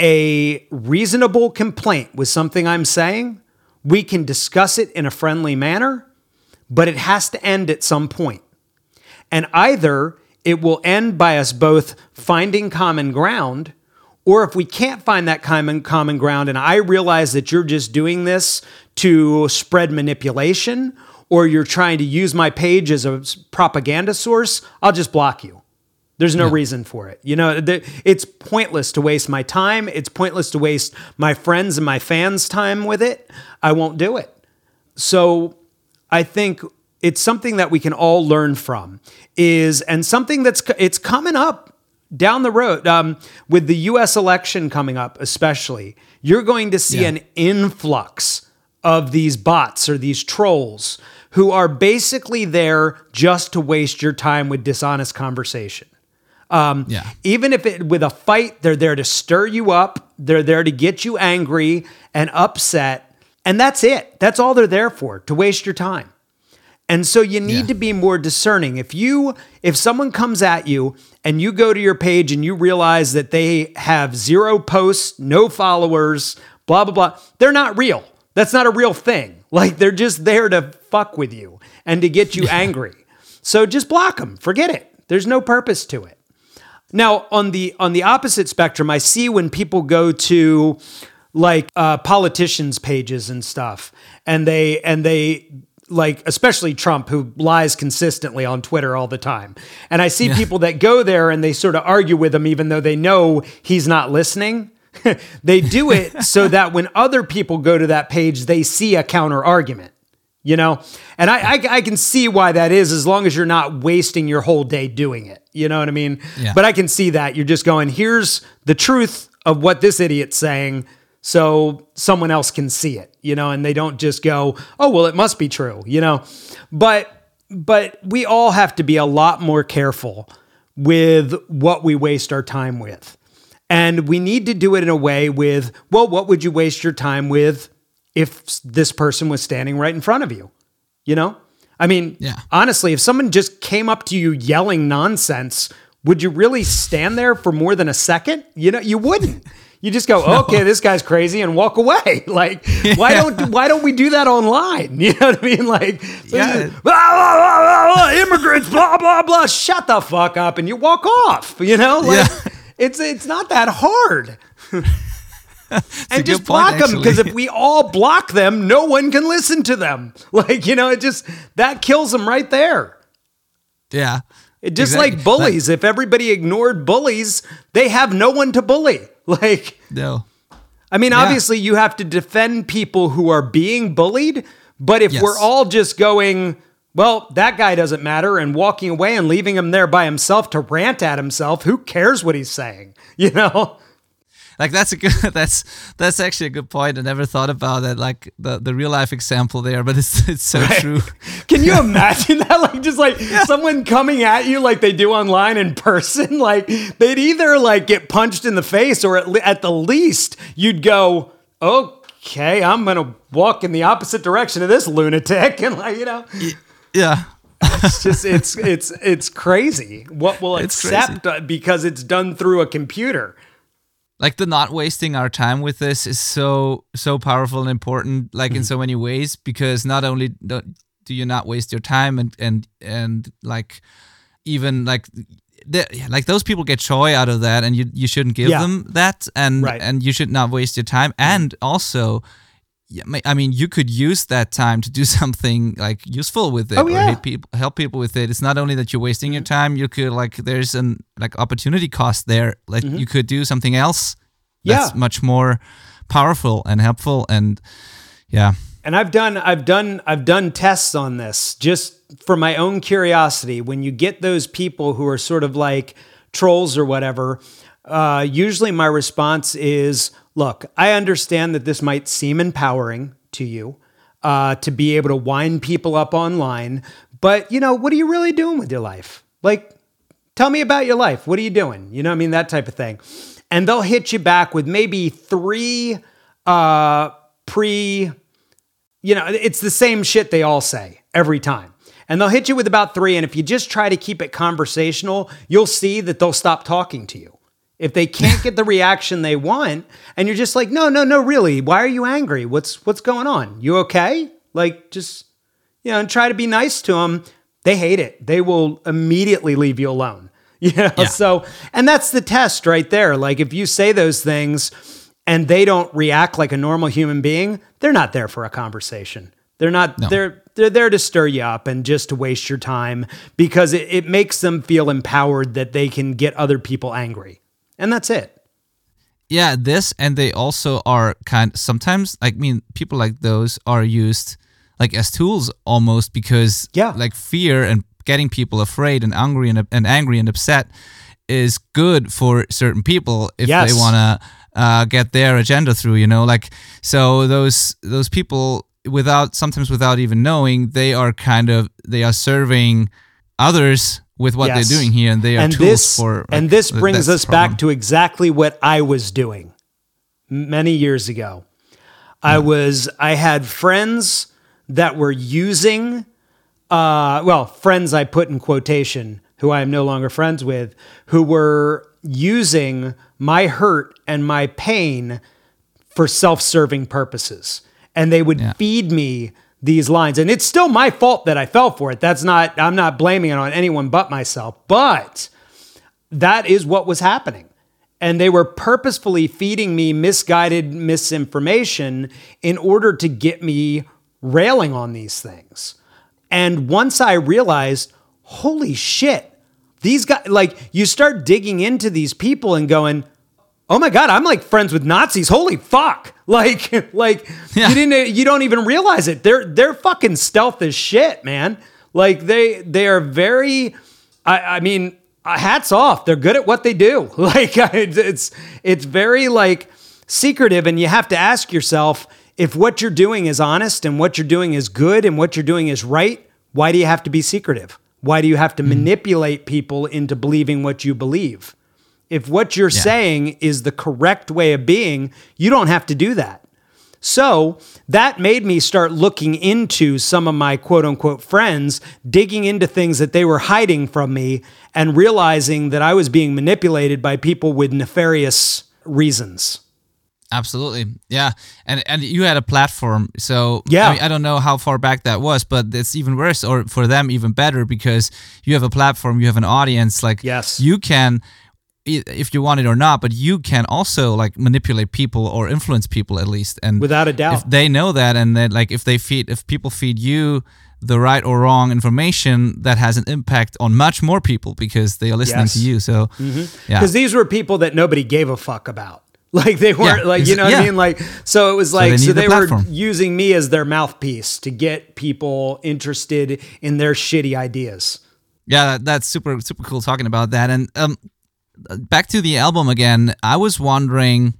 a reasonable complaint with something I'm saying, we can discuss it in a friendly manner. But it has to end at some point. And either it will end by us both finding common ground, or if we can't find that common common ground and I realize that you're just doing this to spread manipulation, or you're trying to use my page as a propaganda source, I'll just block you. There's no yeah. reason for it. You know, it's pointless to waste my time. It's pointless to waste my friends and my fans' time with it. I won't do it. So I think it's something that we can all learn from is, and something that's, it's coming up down the road um, with the U S election coming up, especially, you're going to see yeah. an influx of these bots or these trolls who are basically there just to waste your time with dishonest conversation. Um, yeah. Even if it with a fight, they're there to stir you up. They're there to get you angry and upset. And that's it. That's all they're there for, to waste your time. And so you need yeah. to be more discerning. If you, if someone comes at you and you go to your page and you realize that they have zero posts, no followers, blah, blah, blah, they're not real. That's not a real thing. Like, they're just there to fuck with you and to get you yeah. angry. So just block them. Forget it. There's no purpose to it. Now, on the on the opposite spectrum, I see when people go to like uh, politicians' pages and stuff, and they and they like, especially Trump, who lies consistently on Twitter all the time. And I see yeah. people that go there and they sort of argue with him, even though they know he's not listening. They do it so that when other people go to that page, they see a counter argument, you know? And I, I, I can see why that is, as long as you're not wasting your whole day doing it. You know what I mean? Yeah. But I can see that you're just going, here's the truth of what this idiot's saying, so someone else can see it, you know, and they don't just go, oh, well, it must be true, you know? But, but we all have to be a lot more careful with what we waste our time with. And we need to do it in a way with, well, what would you waste your time with if this person was standing right in front of you? You know? I mean, yeah. honestly, if someone just came up to you yelling nonsense, would you really stand there for more than a second? You know, you wouldn't. You just go, no. okay, this guy's crazy, and walk away. Like, yeah. why don't why don't we do that online? You know what I mean? Like, yeah. blah, blah, blah, blah, immigrants, blah blah blah. Shut the fuck up, and you walk off. You know, like yeah. it's it's not that hard. And just block point, them, because if we all block them, no one can listen to them. Like, you know, it just that kills them right there. Yeah. It just exactly. like bullies. Like, if everybody ignored bullies, they have no one to bully. Like, no. I mean, yeah. obviously you have to defend people who are being bullied, but if yes. we're all just going, well, that guy doesn't matter, and walking away and leaving him there by himself to rant at himself, who cares what he's saying? You know? Like, that's a good, that's, that's actually a good point. I never thought about that, like the, the real life example there, but it's, it's so right. true. Can you imagine that? Like, just like yeah. someone coming at you like they do online in person, like they'd either like get punched in the face, or at, le- at the least you'd go, okay, I'm going to walk in the opposite direction of this lunatic. And like, you know, yeah. It's just, it's, it's, it's crazy what we'll it's accept crazy. Because it's done through a computer. Like, the not wasting our time with this is so, so powerful and important, like, mm-hmm. in so many ways, because not only do you not waste your time and, and, and like, even like, like those people get joy out of that, and you, you shouldn't give yeah. them that, and, right. and you should not waste your time. And also, I mean, you could use that time to do something like useful with it, oh, yeah. or help people, help people with it. It's not only that you're wasting your time, you could like, there's an like opportunity cost there. Like mm-hmm. you could do something else that's yeah. much more powerful and helpful. And yeah. And I've done, I've done, I've done tests on this just for my own curiosity. When you get those people who are sort of like trolls or whatever, uh, usually my response is, look, I understand that this might seem empowering to you. uh, to be able to wind people up online. But, you know, what are you really doing with your life? Like, tell me about your life. What are you doing? You know what I mean? That type of thing. And they'll hit you back with maybe three uh, pre, you know, it's the same shit they all say every time. And they'll hit you with about three. And if you just try to keep it conversational, you'll see that they'll stop talking to you. If they can't get the reaction they want, and you're just like, no, no, no, really, why are you angry? What's what's going on? You okay? Like, just, you know, and try to be nice to them. They hate it. They will immediately leave you alone. You know, yeah. So, and that's the test right there. Like, if you say those things and they don't react like a normal human being, they're not there for a conversation. They're not, no. they're, they're there to stir you up and just to waste your time, because it, it makes them feel empowered that they can get other people angry. And that's it. Yeah, this, and they also are kind sometimes, I mean, people like those are used like as tools almost, because yeah. like fear and getting people afraid and angry and, and angry and upset is good for certain people if yes. they want to uh, get their agenda through, you know, like, so those those people without sometimes without even knowing, they are kind of they are serving others with what yes. they're doing here, and they are and tools this, for. Like, and this brings us problem. back to exactly what I was doing many years ago. I was I had friends that were using. Uh, well, friends I put in quotation, who I am no longer friends with, who were using my hurt and my pain for self-serving purposes. And they would yeah. feed me these lines. And it's still my fault that I fell for it. That's not, I'm not blaming it on anyone but myself. But that is what was happening. And they were purposefully feeding me misguided misinformation in order to get me railing on these things. And once I realized, holy shit, these guys, like, you start digging into these people and going, oh my God, I'm like friends with Nazis. Holy fuck. Like, like yeah. you didn't, you don't even realize it. They're, they're fucking stealth as shit, man. Like they, they are very, I, I mean, hats off. They're good at what they do. Like it's, it's very like secretive, and you have to ask yourself, if what you're doing is honest and what you're doing is good and what you're doing is right, why do you have to be secretive? Why do you have to mm-hmm. manipulate people into believing what you believe? If what you're yeah. saying is the correct way of being, you don't have to do that. So that made me start looking into some of my quote unquote friends, digging into things that they were hiding from me, and realizing that I was being manipulated by people with nefarious reasons. Absolutely. Yeah. And and you had a platform. So yeah. I mean, I don't know how far back that was, but it's even worse, or for them even better, because you have a platform, you have an audience. Like yes. you can, if you want it or not, but you can also like manipulate people or influence people at least. And without a doubt, if they know that, and then like if they feed, if people feed you the right or wrong information, that has an impact on much more people because they are listening yes. to you. So mm-hmm. yeah. Because these were people that nobody gave a fuck about. Like they weren't yeah, like, you know what yeah. I mean? Like, so it was like, so they, so they were using me as their mouthpiece to get people interested in their shitty ideas. Yeah, that's super, super cool talking about that. And um, back to the album again, I was wondering,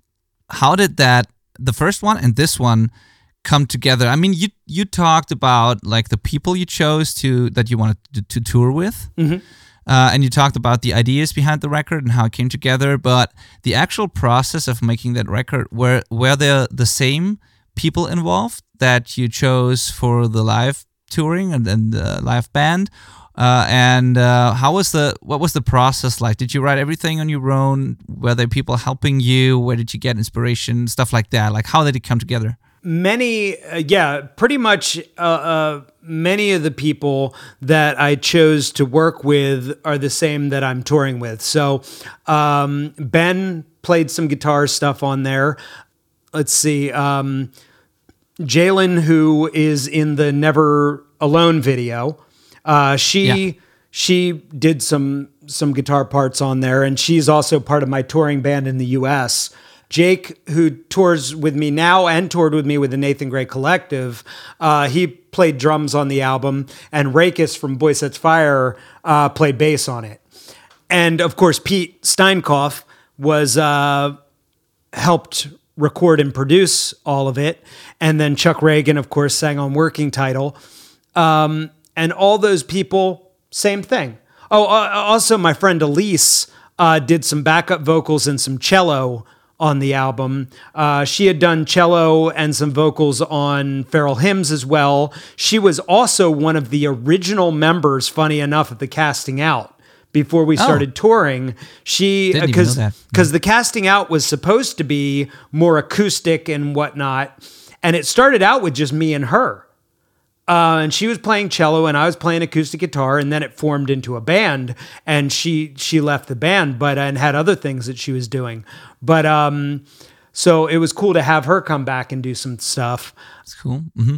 how did that, the first one and this one come together? I mean, you you talked about like the people you chose to, that you wanted to, to tour with. Mm-hmm. Uh, and you talked about the ideas behind the record and how it came together, but the actual process of making that record, were were there the same people involved that you chose for the live touring and, and the live band? Uh, and uh, how was the what was the process like? Did you write everything on your own? Were there people helping you? Where did you get inspiration? Stuff like that. Like, how did it come together? Many, uh, yeah, pretty much uh, uh, many of the people that I chose to work with are the same that I'm touring with. So um, Ben played some guitar stuff on there. Let's see. Um, Jalen, who is in the Never Alone video, uh, she yeah. she did some some guitar parts on there, and she's also part of my touring band in the U S Jake, who tours with me now and toured with me with the Nathan Gray Collective, uh, he played drums on the album, and Rakis from Boy Sets Fire uh, played bass on it. And of course, Pete Steinkopf was uh, helped record and produce all of it. And then Chuck Reagan, of course, sang on Working Title. Um, and all those people, same thing. Oh, uh, also my friend Elise uh, did some backup vocals and some cello on the album. Uh, she had done cello and some vocals on Feral Hymns as well. She was also one of the original members, funny enough, of the Casting Out before we started oh. touring. She, because because the Casting Out was supposed to be more acoustic and whatnot. And it started out with just me and her. Uh, and she was playing cello and I was playing acoustic guitar, and then it formed into a band, and she she left the band, but and had other things that she was doing. But um, so it was cool to have her come back and do some stuff. That's cool. Mm-hmm.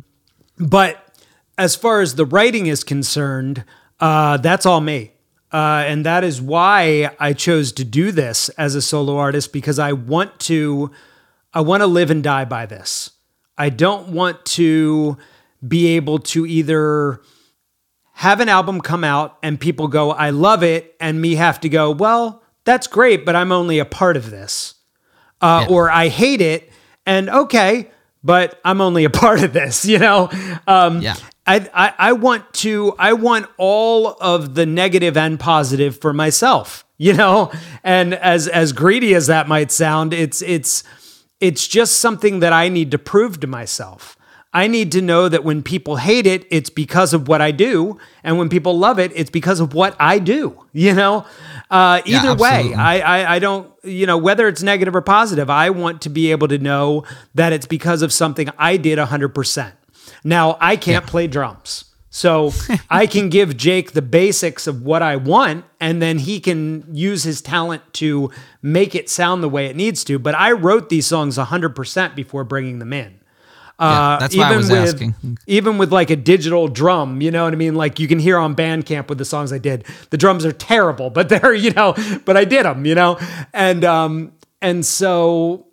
But as far as the writing is concerned, uh, that's all me. Uh, and that is why I chose to do this as a solo artist, because I want to I want to live and die by this. I don't want to be able to either have an album come out and people go, I love it, and me have to go, well, that's great, but I'm only a part of this. Uh, yeah. Or I hate it, and okay, but I'm only a part of this, you know? Um, yeah. I, I, I want to, I want all of the negative and positive for myself, you know? And as, as greedy as that might sound, it's, it's, it's just something that I need to prove to myself. I need to know that when people hate it, it's because of what I do. And when people love it, it's because of what I do, you know? Uh, either yeah, way, I, I, I don't, you know, whether it's negative or positive, I want to be able to know that it's because of something I did one hundred percent. Now, I can't yeah. play drums. So I can give Jake the basics of what I want, and then he can use his talent to make it sound the way it needs to. But I wrote these songs one hundred percent before bringing them in. Yeah, uh, that's even why I was with, asking. Even with like a digital drum, you know what I mean? Like you can hear on Bandcamp with the songs I did, the drums are terrible, but they're, you know, but I did them, you know? And, um, and so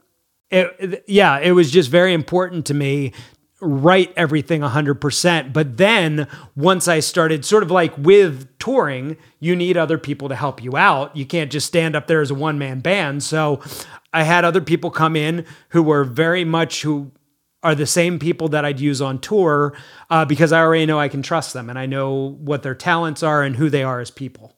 it, yeah, it was just very important to me, write everything one hundred percent. But then once I started sort of like with touring, you need other people to help you out. You can't just stand up there as a one man band. So I had other people come in who were very much who, are the same people that I'd use on tour uh, because I already know I can trust them and I know what their talents are and who they are as people.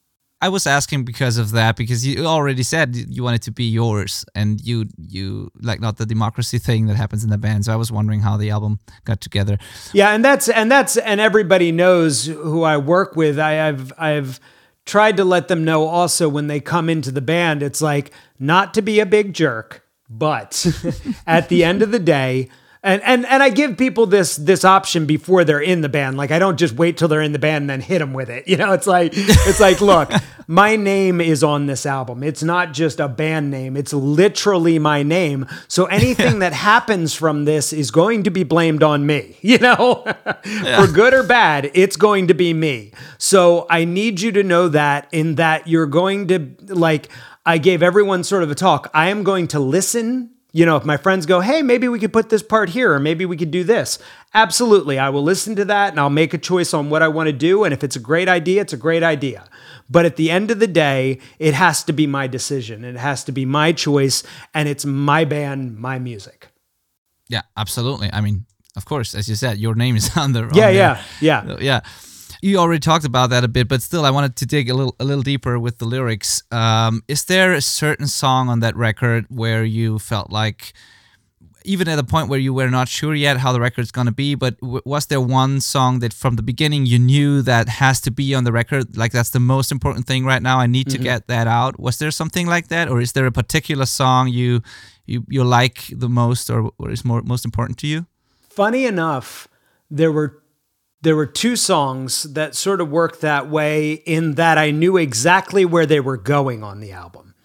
I was asking because of that, because you already said you want it to be yours, and you, you like not the democracy thing that happens in the band. So I was wondering how the album got together. Yeah. And that's, and that's, and everybody knows who I work with. I, I've, I've tried to let them know also when they come into the band, it's like not to be a big jerk, but at the end of the day, and, and and I give people this this option before they're in the band. Like I don't just wait till they're in the band and then hit them with it. You know, it's like it's like, look, my name is on this album. It's not just a band name. It's literally my name. So anything that happens from this is going to be blamed on me. You know, yeah. For good or bad, it's going to be me. So I need you to know that in that you're going to like. I gave everyone sort of a talk. I am going to listen. You know, if my friends go, hey, maybe we could put this part here, or maybe we could do this. Absolutely. I will listen to that and I'll make a choice on what I want to do. And if it's a great idea, it's a great idea. But at the end of the day, it has to be my decision. It has to be my choice. And it's my band, my music. Yeah, absolutely. I mean, of course, as you said, your name is on the... Yeah, on yeah, the, yeah. Yeah. You already talked about that a bit, but still, I wanted to dig a little, a little deeper with the lyrics. Um, is there a certain song on that record where you felt like, even at a point where you were not sure yet how the record's going to be, but w- was there one song that from the beginning you knew that has to be on the record? Like that's the most important thing right now. I need mm-hmm. to get that out. Was there something like that, or is there a particular song you you you like the most, or, or is more most important to you? Funny enough, there were. There were two songs that sort of worked that way in that I knew exactly where they were going on the album.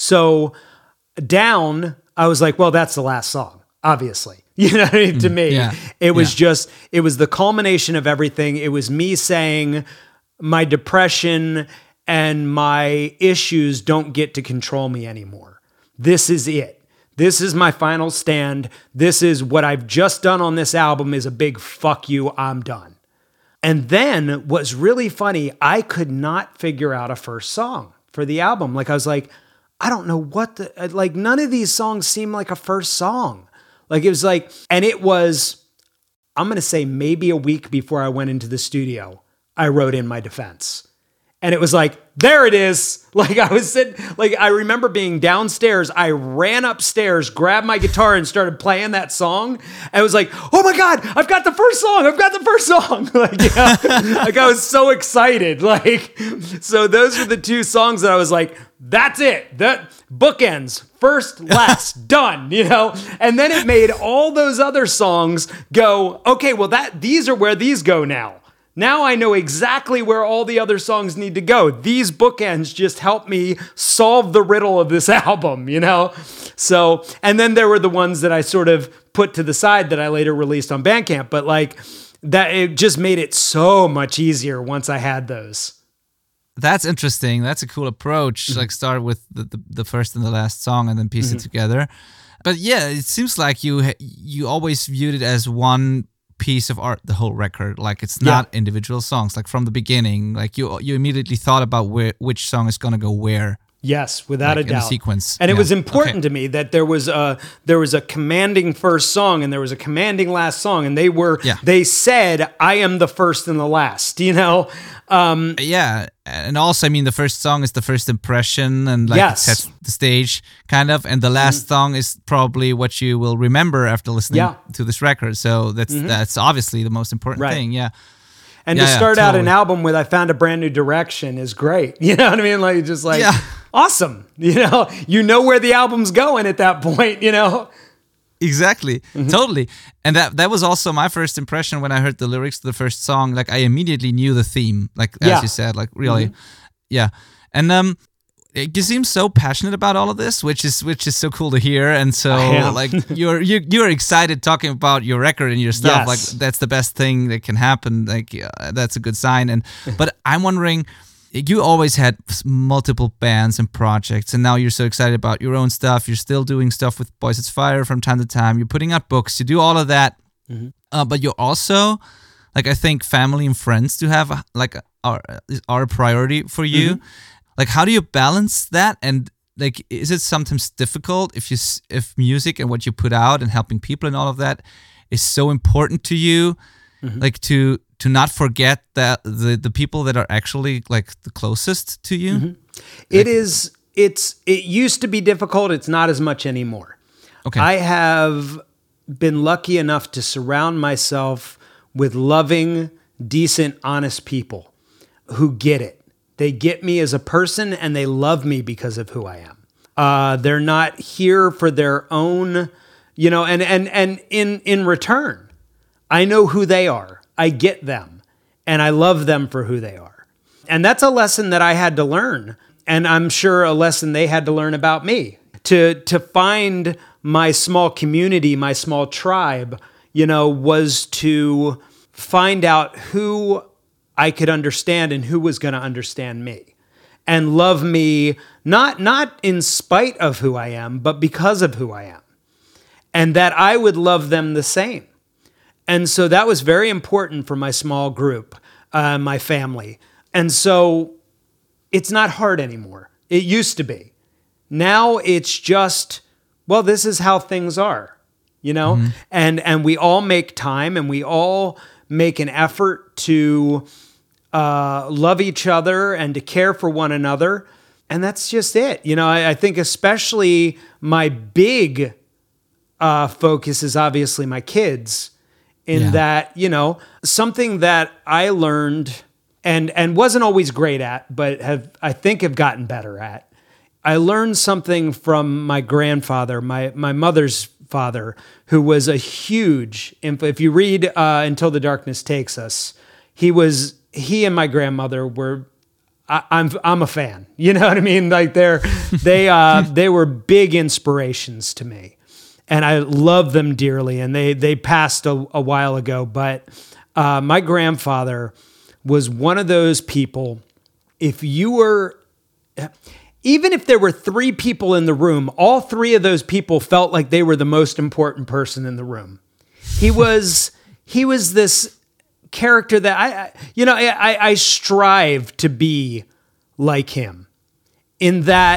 So Down, I was like, well, that's the last song, obviously. You know what I mean? To me, yeah. it was yeah. just, it was the culmination of everything. It was me saying my depression and my issues don't get to control me anymore. This is it. This is my final stand. This is what I've just done on this album is a big fuck you, I'm done. And then what's really funny, I could not figure out a first song for the album. Like I was like, I don't know what the, like, none of these songs seem like a first song. Like, it was like, and it was, I'm going to say maybe a week before I went into the studio, I wrote In My Defense. And it was like, there it is. Like, I was sitting, like, I remember being downstairs. I ran upstairs, grabbed my guitar, and started playing that song. And it was like, oh my God, I've got the first song. I've got the first song. Like, yeah, like I was so excited. Like, so those are the two songs that I was like, that's it. That bookends, first, last, done, you know? And then it made all those other songs go, okay, well, that these are where these go now. Now I know exactly where all the other songs need to go. These bookends just help me solve the riddle of this album, you know? So, and then there were the ones that I sort of put to the side that I later released on Bandcamp, but like that, it just made it so much easier once I had those. That's interesting. That's a cool approach. Mm-hmm. Like start with the, the, the first and the last song and then piece mm-hmm. it together. But yeah, it seems like you you always viewed it as one piece of art, the whole record. Like it's not yeah. individual songs. Like from the beginning, like you you immediately thought about where which song is gonna go where. Yes, without like a doubt. In a sequence. And yeah. it was important okay. to me that there was a there was a commanding first song and there was a commanding last song, and they were yeah. they said, I am the first and the last, you know? Um, yeah, and also, I mean, the first song is the first impression, and like yes. it sets the stage, kind of. And the last mm-hmm. song is probably what you will remember after listening yeah. to this record. So that's mm-hmm. that's obviously the most important right. thing. Yeah, and yeah, to start yeah, out totally. an album with "I Found a Brand New Direction" is great. You know what I mean? Like just like yeah. awesome. You know, you know where the album's going at that point. You know. Exactly, mm-hmm. totally. And that that was also my first impression when I heard the lyrics to the first song. Like I immediately knew the theme, like as yeah. you said, like really, mm-hmm. yeah. And um, it, you seem so passionate about all of this, which is which is so cool to hear. And so like you're you you're excited talking about your record and your stuff. Yes. Like that's the best thing that can happen. Like uh, that's a good sign. And but I'm wondering. You always had multiple bands and projects, and now you're so excited about your own stuff. You're still doing stuff with Boys It's Fire from time to time. You're putting out books. You do all of that, mm-hmm. uh, but you're also, like, I think family and friends to have like are are a priority for you. Mm-hmm. Like, how do you balance that? And like, is it sometimes difficult if you if music and what you put out and helping people and all of that is so important to you, mm-hmm. like to to not forget that the, the people that are actually like the closest to you? Mm-hmm. It like, is, it's, it used to be difficult. It's not as much anymore. Okay. I have been lucky enough to surround myself with loving, decent, honest people who get it. They get me as a person and they love me because of who I am. Uh, they're not here for their own, you know, and, and, and in, in return, I know who they are. I get them, and I love them for who they are. And that's a lesson that I had to learn, and I'm sure a lesson they had to learn about me. To to find my small community, my small tribe, you know, was to find out who I could understand and who was going to understand me and love me, not, not in spite of who I am, but because of who I am, and that I would love them the same. And so that was very important for my small group, uh, my family. And so it's not hard anymore. It used to be. Now it's just, well, this is how things are, you know? Mm-hmm. And and we all make time and we all make an effort to uh, love each other and to care for one another. And that's just it. You know, I, I think especially my big uh, focus is obviously my kids. In yeah. that, you know, something that I learned and and wasn't always great at, but have I think have gotten better at. I learned something from my grandfather, my my mother's father, who was a huge. If you read uh, Until the Darkness Takes Us, he was he and my grandmother were. I, I'm I'm a fan. You know what I mean? Like they're they uh, they were big inspirations to me. And I love them dearly, and they they passed a, a while ago. But uh, my grandfather was one of those people. If you were, even if there were three people in the room, all three of those people felt like they were the most important person in the room. He was he was this character that I, I you know I, I strive to be like him, in that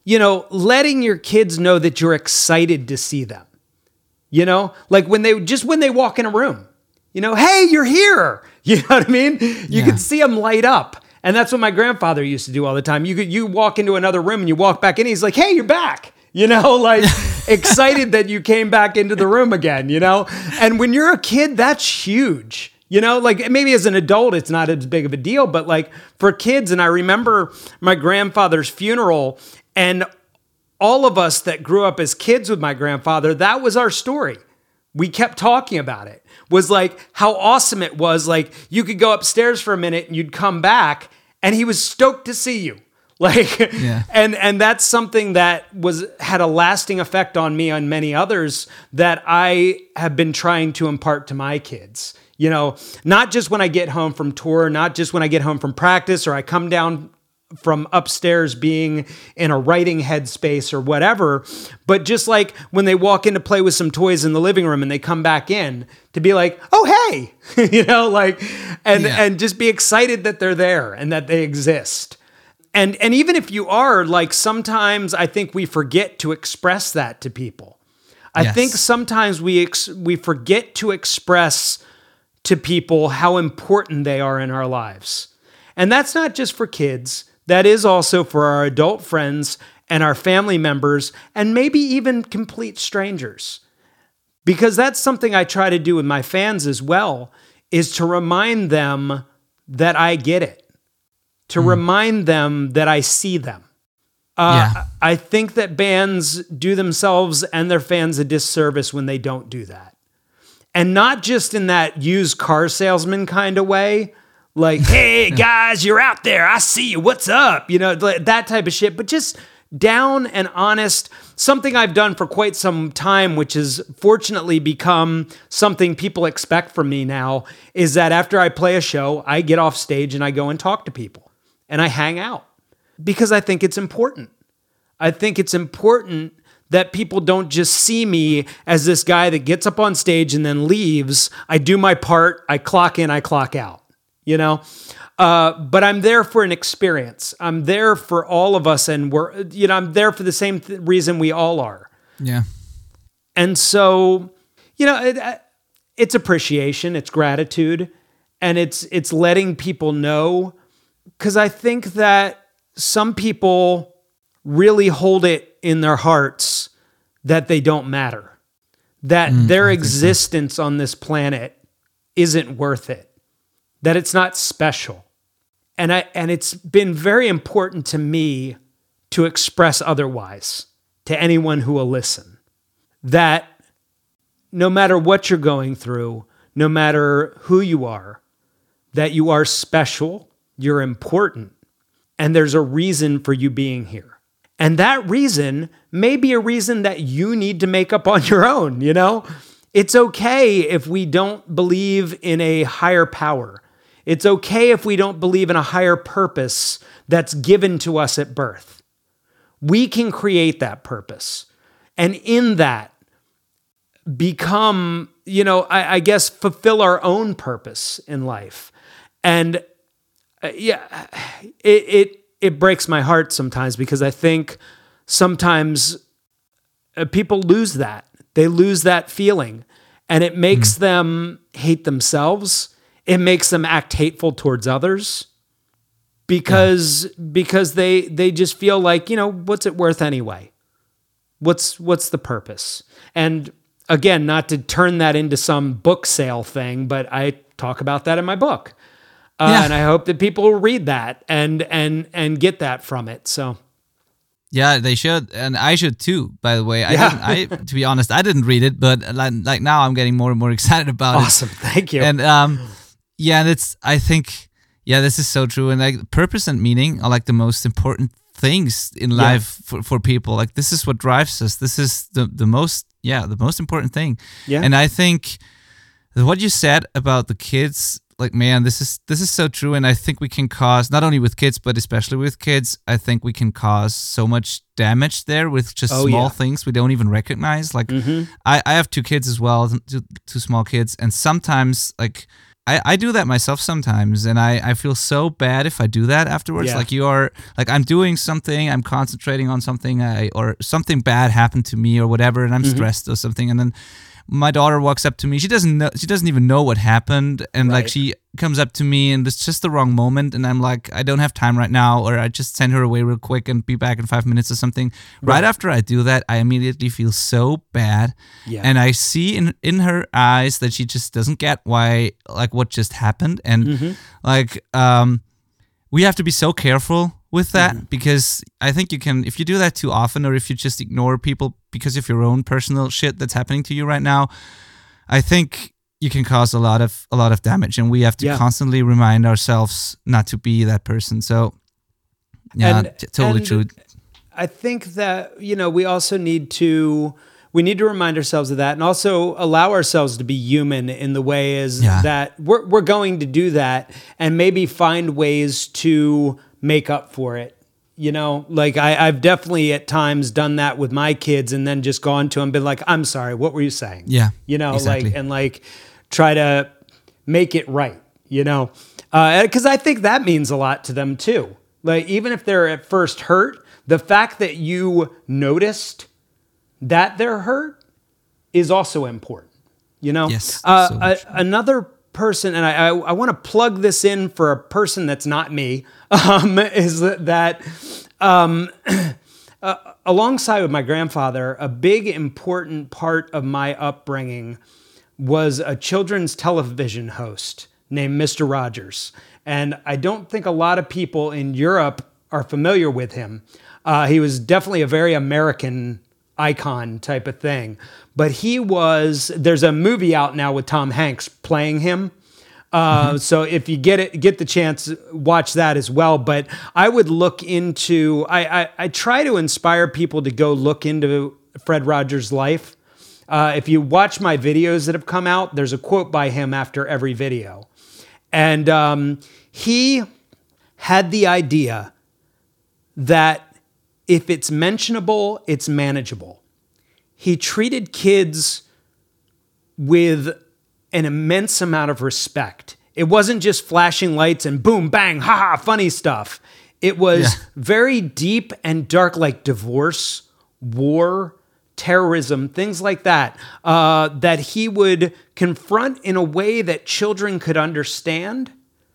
you know, letting your kids know that you're excited to see them. You know, like when they just when they walk in a room, you know, hey, you're here. You know what I mean? You Yeah. can see them light up. And that's what my grandfather used to do all the time. You could you walk into another room and you walk back in, he's like, hey, you're back. You know, like excited that you came back into the room again, you know? And when you're a kid, that's huge. You know, like maybe as an adult, it's not as big of a deal, but like for kids, and I remember my grandfather's funeral, and all of us that grew up as kids with my grandfather, that was our story. We kept talking about it, was like how awesome it was. Like you could go upstairs for a minute and you'd come back and he was stoked to see you. Like, Yeah. and, and that's something that was, had a lasting effect on me and many others that I have been trying to impart to my kids. You know, not just when I get home from tour, not just when I get home from practice or I come down from upstairs being in a writing headspace or whatever, but just like when they walk in to play with some toys in the living room and they come back in to be like, oh, hey, you know, like, and, Yeah. and just be excited that they're there and that they exist. And, and even if you are, like, sometimes I think we forget to express that to people. I Yes. think sometimes we, ex- we forget to express to people how important they are in our lives. And that's not just for kids. That is also for our adult friends and our family members, and maybe even complete strangers. Because that's something I try to do with my fans as well, is to remind them that I get it, to remind them that I see them. Uh, Yeah. I think that bands do themselves and their fans a disservice when they don't do that. And not just in that used car salesman kind of way, like, hey, guys, you're out there. I see you. What's up? You know, like that type of shit. But just down and honest, something I've done for quite some time, which has fortunately become something people expect from me now, is that after I play a show, I get off stage and I go and talk to people and I hang out because I think it's important. I think it's important that people don't just see me as this guy that gets up on stage and then leaves. I do my part, I clock in, I clock out. You know, uh, but I'm there for an experience. I'm there for all of us, and we're, you know, I'm there for the same th- reason we all are. Yeah. And so, you know, it, it's appreciation, it's gratitude, and it's it's letting people know, because I think that some people really hold it in their hearts that they don't matter, that Mm, their I think so. existence on this planet isn't worth it, that it's not special. And I and it's been very important to me to express otherwise to anyone who will listen. That no matter what you're going through, no matter who you are, that you are special, you're important, and there's a reason for you being here. And that reason may be a reason that you need to make up on your own, you know? It's okay if we don't believe in a higher power. It's okay if we don't believe in a higher purpose that's given to us at birth. We can create that purpose. And in that, become, you know, I, I guess, fulfill our own purpose in life. And uh, yeah, it, it, it breaks my heart sometimes because I think sometimes uh, people lose that. They lose that feeling. And it makes them hate themselves. It makes them act hateful towards others because yeah. because they they just feel like, you know, what's it worth anyway? What's what's the purpose? And again, not to turn that into some book sale thing, but I talk about that in my book. Uh, Yeah. And I hope that people will read that and and and get that from it. So Yeah, they should, and I should too. By the way, I, Yeah. didn't, I to be honest, I didn't read it, but like, like now I'm getting more and more excited about awesome. Thank you. it. And um, yeah, and it's I think yeah, this is so true. And like purpose and meaning are like the most important things in Yeah. life for, for people. Like this is what drives us. This is the the most yeah the most important thing. Yeah. And I think what you said about the kids, like, man, this is this is so true. And I think we can cause, not only with kids, but especially with kids, I think we can cause so much damage there with just Oh, small yeah. things we don't even recognize. Like, Mhm. I, I have two kids as well, two, two small kids. And sometimes, like, I, I do that myself sometimes, and I, I feel so bad if I do that afterwards. Yeah. Like you are, like I'm doing something, I'm concentrating on something, I, or something bad happened to me or whatever, and I'm Mm-hmm. stressed or something, and then my daughter walks up to me. She doesn't know, she doesn't even know what happened, and like Right. she comes up to me, and it's just the wrong moment, and I'm like, I don't have time right now, or I just send her away real quick and be back in five minutes or something. Right, Right. after I do that, I immediately feel so bad, Yeah. and I see in in her eyes that she just doesn't get why, like what just happened, and Mm-hmm. like um, we have to be so careful with that Mm-hmm. because I think you can, if you do that too often, or if you just ignore people because of your own personal shit that's happening to you right now, I think you can cause a lot of a lot of damage, and we have to Yeah. constantly remind ourselves not to be that person. So yeah, And- t- totally and true. I think that, you know, we also need to we need to remind ourselves of that, and also allow ourselves to be human in the way is Yeah. that we're we're going to do that, and maybe find ways to make up for it. You know, like I, I've definitely at times done that with my kids, and then just gone to them and been like, "I'm sorry, what were you saying?" Yeah, you know, exactly. like and like try to make it right. You know, because I think that means a lot to them too. Like even if they're at first hurt, the fact that you noticed that they're hurt is also important, you know? Yes, Uh, so a- much. another person, and I, I, I want to plug this in for a person that's not me, um, is that, that um, uh, alongside with my grandfather, a big important part of my upbringing was a children's television host named Mister Rogers. And I don't think a lot of people in Europe are familiar with him. Uh, he was definitely a very American icon type of thing. But he was, there's a movie out now with Tom Hanks playing him. Uh, So if you get it, get the chance, watch that as well. But I would look into, I, I, I try to inspire people to go look into Fred Rogers' life. Uh, if you watch my videos that have come out, there's a quote by him after every video. And um, he had the idea that if it's mentionable, it's manageable. He treated kids with an immense amount of respect. It wasn't just flashing lights and boom, bang, ha ha, funny stuff. It was Yeah. very deep and dark, like divorce, war, terrorism, things like that, uh, that he would confront in a way that children could understand.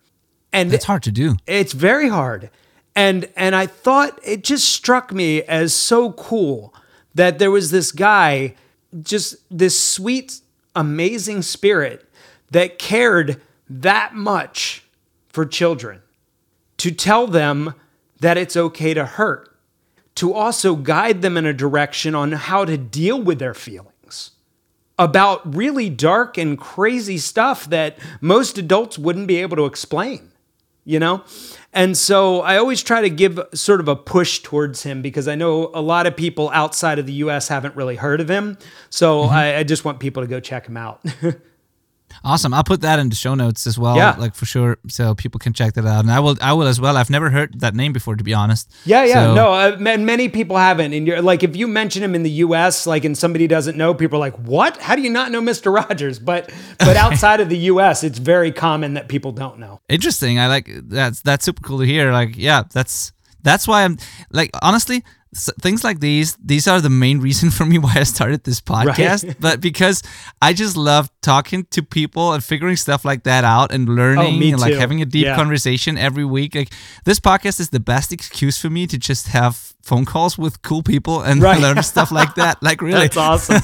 And That's hard to do. it's very hard. And and I thought it just struck me as so cool that there was this guy, just this sweet, amazing spirit that cared that much for children, to tell them that it's okay to hurt, to also guide them in a direction on how to deal with their feelings about really dark and crazy stuff that most adults wouldn't be able to explain, you know? And so I always try to give sort of a push towards him because I know a lot of people outside of the U S haven't really heard of him. So I, I just want people to go check him out. Awesome. I'll put that in the show notes as well, Yeah. like for sure, so people can check that out. And I will, I will as well. I've never heard that name before, to be honest. Yeah, yeah, So- no, uh, ma- many people haven't. And you're like, if you mention him in the U S, like, and somebody doesn't know, people are like, "What? How do you not know Mister Rogers?" But, but outside of the U S, it's very common that people don't know. Interesting. I like that's that's super cool to hear. Like, yeah, that's that's why I'm like honestly, s- things like these these are the main reason for me why I started this podcast. Right. But because I just love talking to people and figuring stuff like that out and learning Oh, me and like too. having a deep Yeah. conversation every week. Like this podcast is the best excuse for me to just have phone calls with cool people and Right. learn stuff like that. Like really, That's awesome.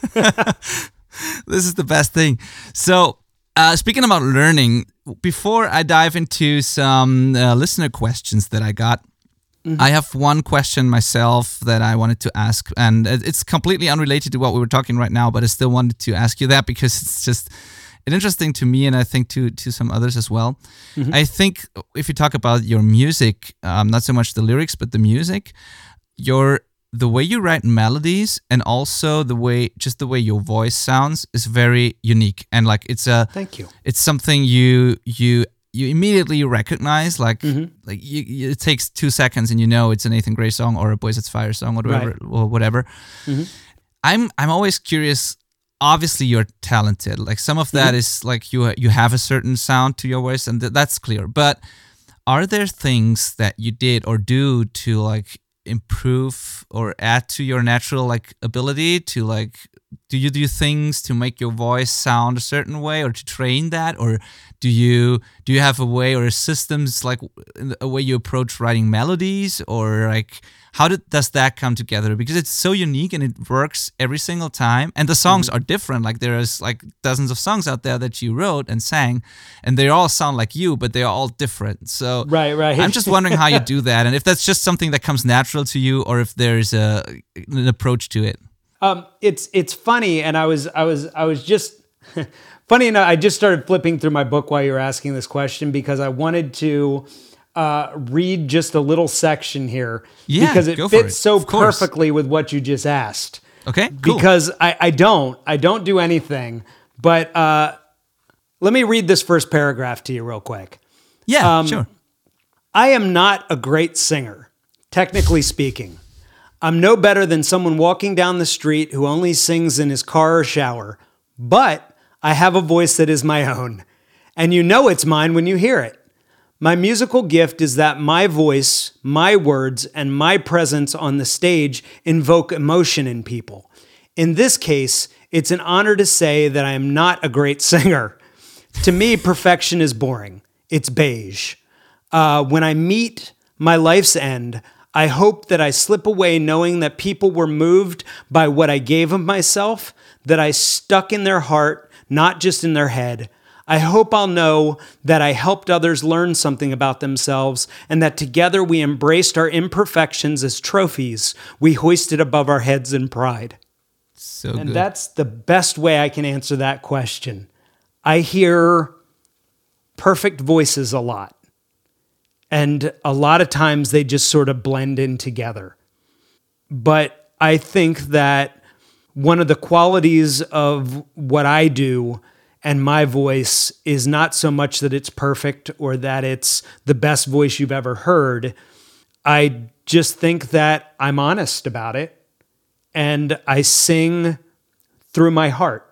this is the best thing. So, uh, speaking about learning, before I dive into some uh, listener questions that I got, I have one question myself that I wanted to ask, and it- it's completely unrelated to what we were talking right now, but I still wanted to ask you that because it's just it's interesting to me, and I think to to some others as well. I think if you talk about your music, um, not so much the lyrics, but the music, your the way you write melodies and also the way just the way your voice sounds is very unique, and like it's a Thank you. it's something you you you immediately recognize, like like you, you- it takes two seconds and you know it's a Nathan Gray song or a Boys It's Fire song or whatever Right. or whatever. I'm I'm always curious obviously you're talented. Like some of that mm-hmm. is like you you have a certain sound to your voice, and th- that's clear. But are there things that you did or do to like improve or add to your natural like ability to like? Do you do things to make your voice sound a certain way, or to train that, or do you do you have a way or a systems like a way you approach writing melodies, or like how did, does that come together? Because it's so unique and it works every single time, and the songs mm-hmm. are different. Like there is like dozens of songs out there that you wrote and sang, and they all sound like you, but they are all different. So right, right. I'm just wondering how you do that, and if that's just something that comes natural to you, or if there's a an approach to it. Um, it's it's funny, and I was I was I was just funny enough. I just started flipping through my book while you were asking this question because I wanted to uh, read just a little section here yeah, because it go fits for it. so Of course. perfectly with what you just asked. Okay, cool. Because I, I don't I don't do anything, but uh, let me read this first paragraph to you real quick. Yeah, um, sure. I am not a great singer, technically speaking. I'm no better than someone walking down the street who only sings in his car or shower, but I have a voice that is my own, and you know it's mine when you hear it. My musical gift is that my voice, my words, and my presence on the stage invoke emotion in people. In this case, it's an honor to say that I am not a great singer. To me, perfection is boring. It's beige. Uh, when I meet my life's end, I hope that I slip away knowing that people were moved by what I gave of myself, that I stuck in their heart, not just in their head. I hope I'll know that I helped others learn something about themselves, and that together we embraced our imperfections as trophies we hoisted above our heads in pride. So and good. That's the best way I can answer that question. I hear perfect voices a lot. And a lot of times they just sort of blend in together. But I think that one of the qualities of what I do and my voice is not so much that it's perfect or that it's the best voice you've ever heard. I just think that I'm honest about it. And I sing through my heart.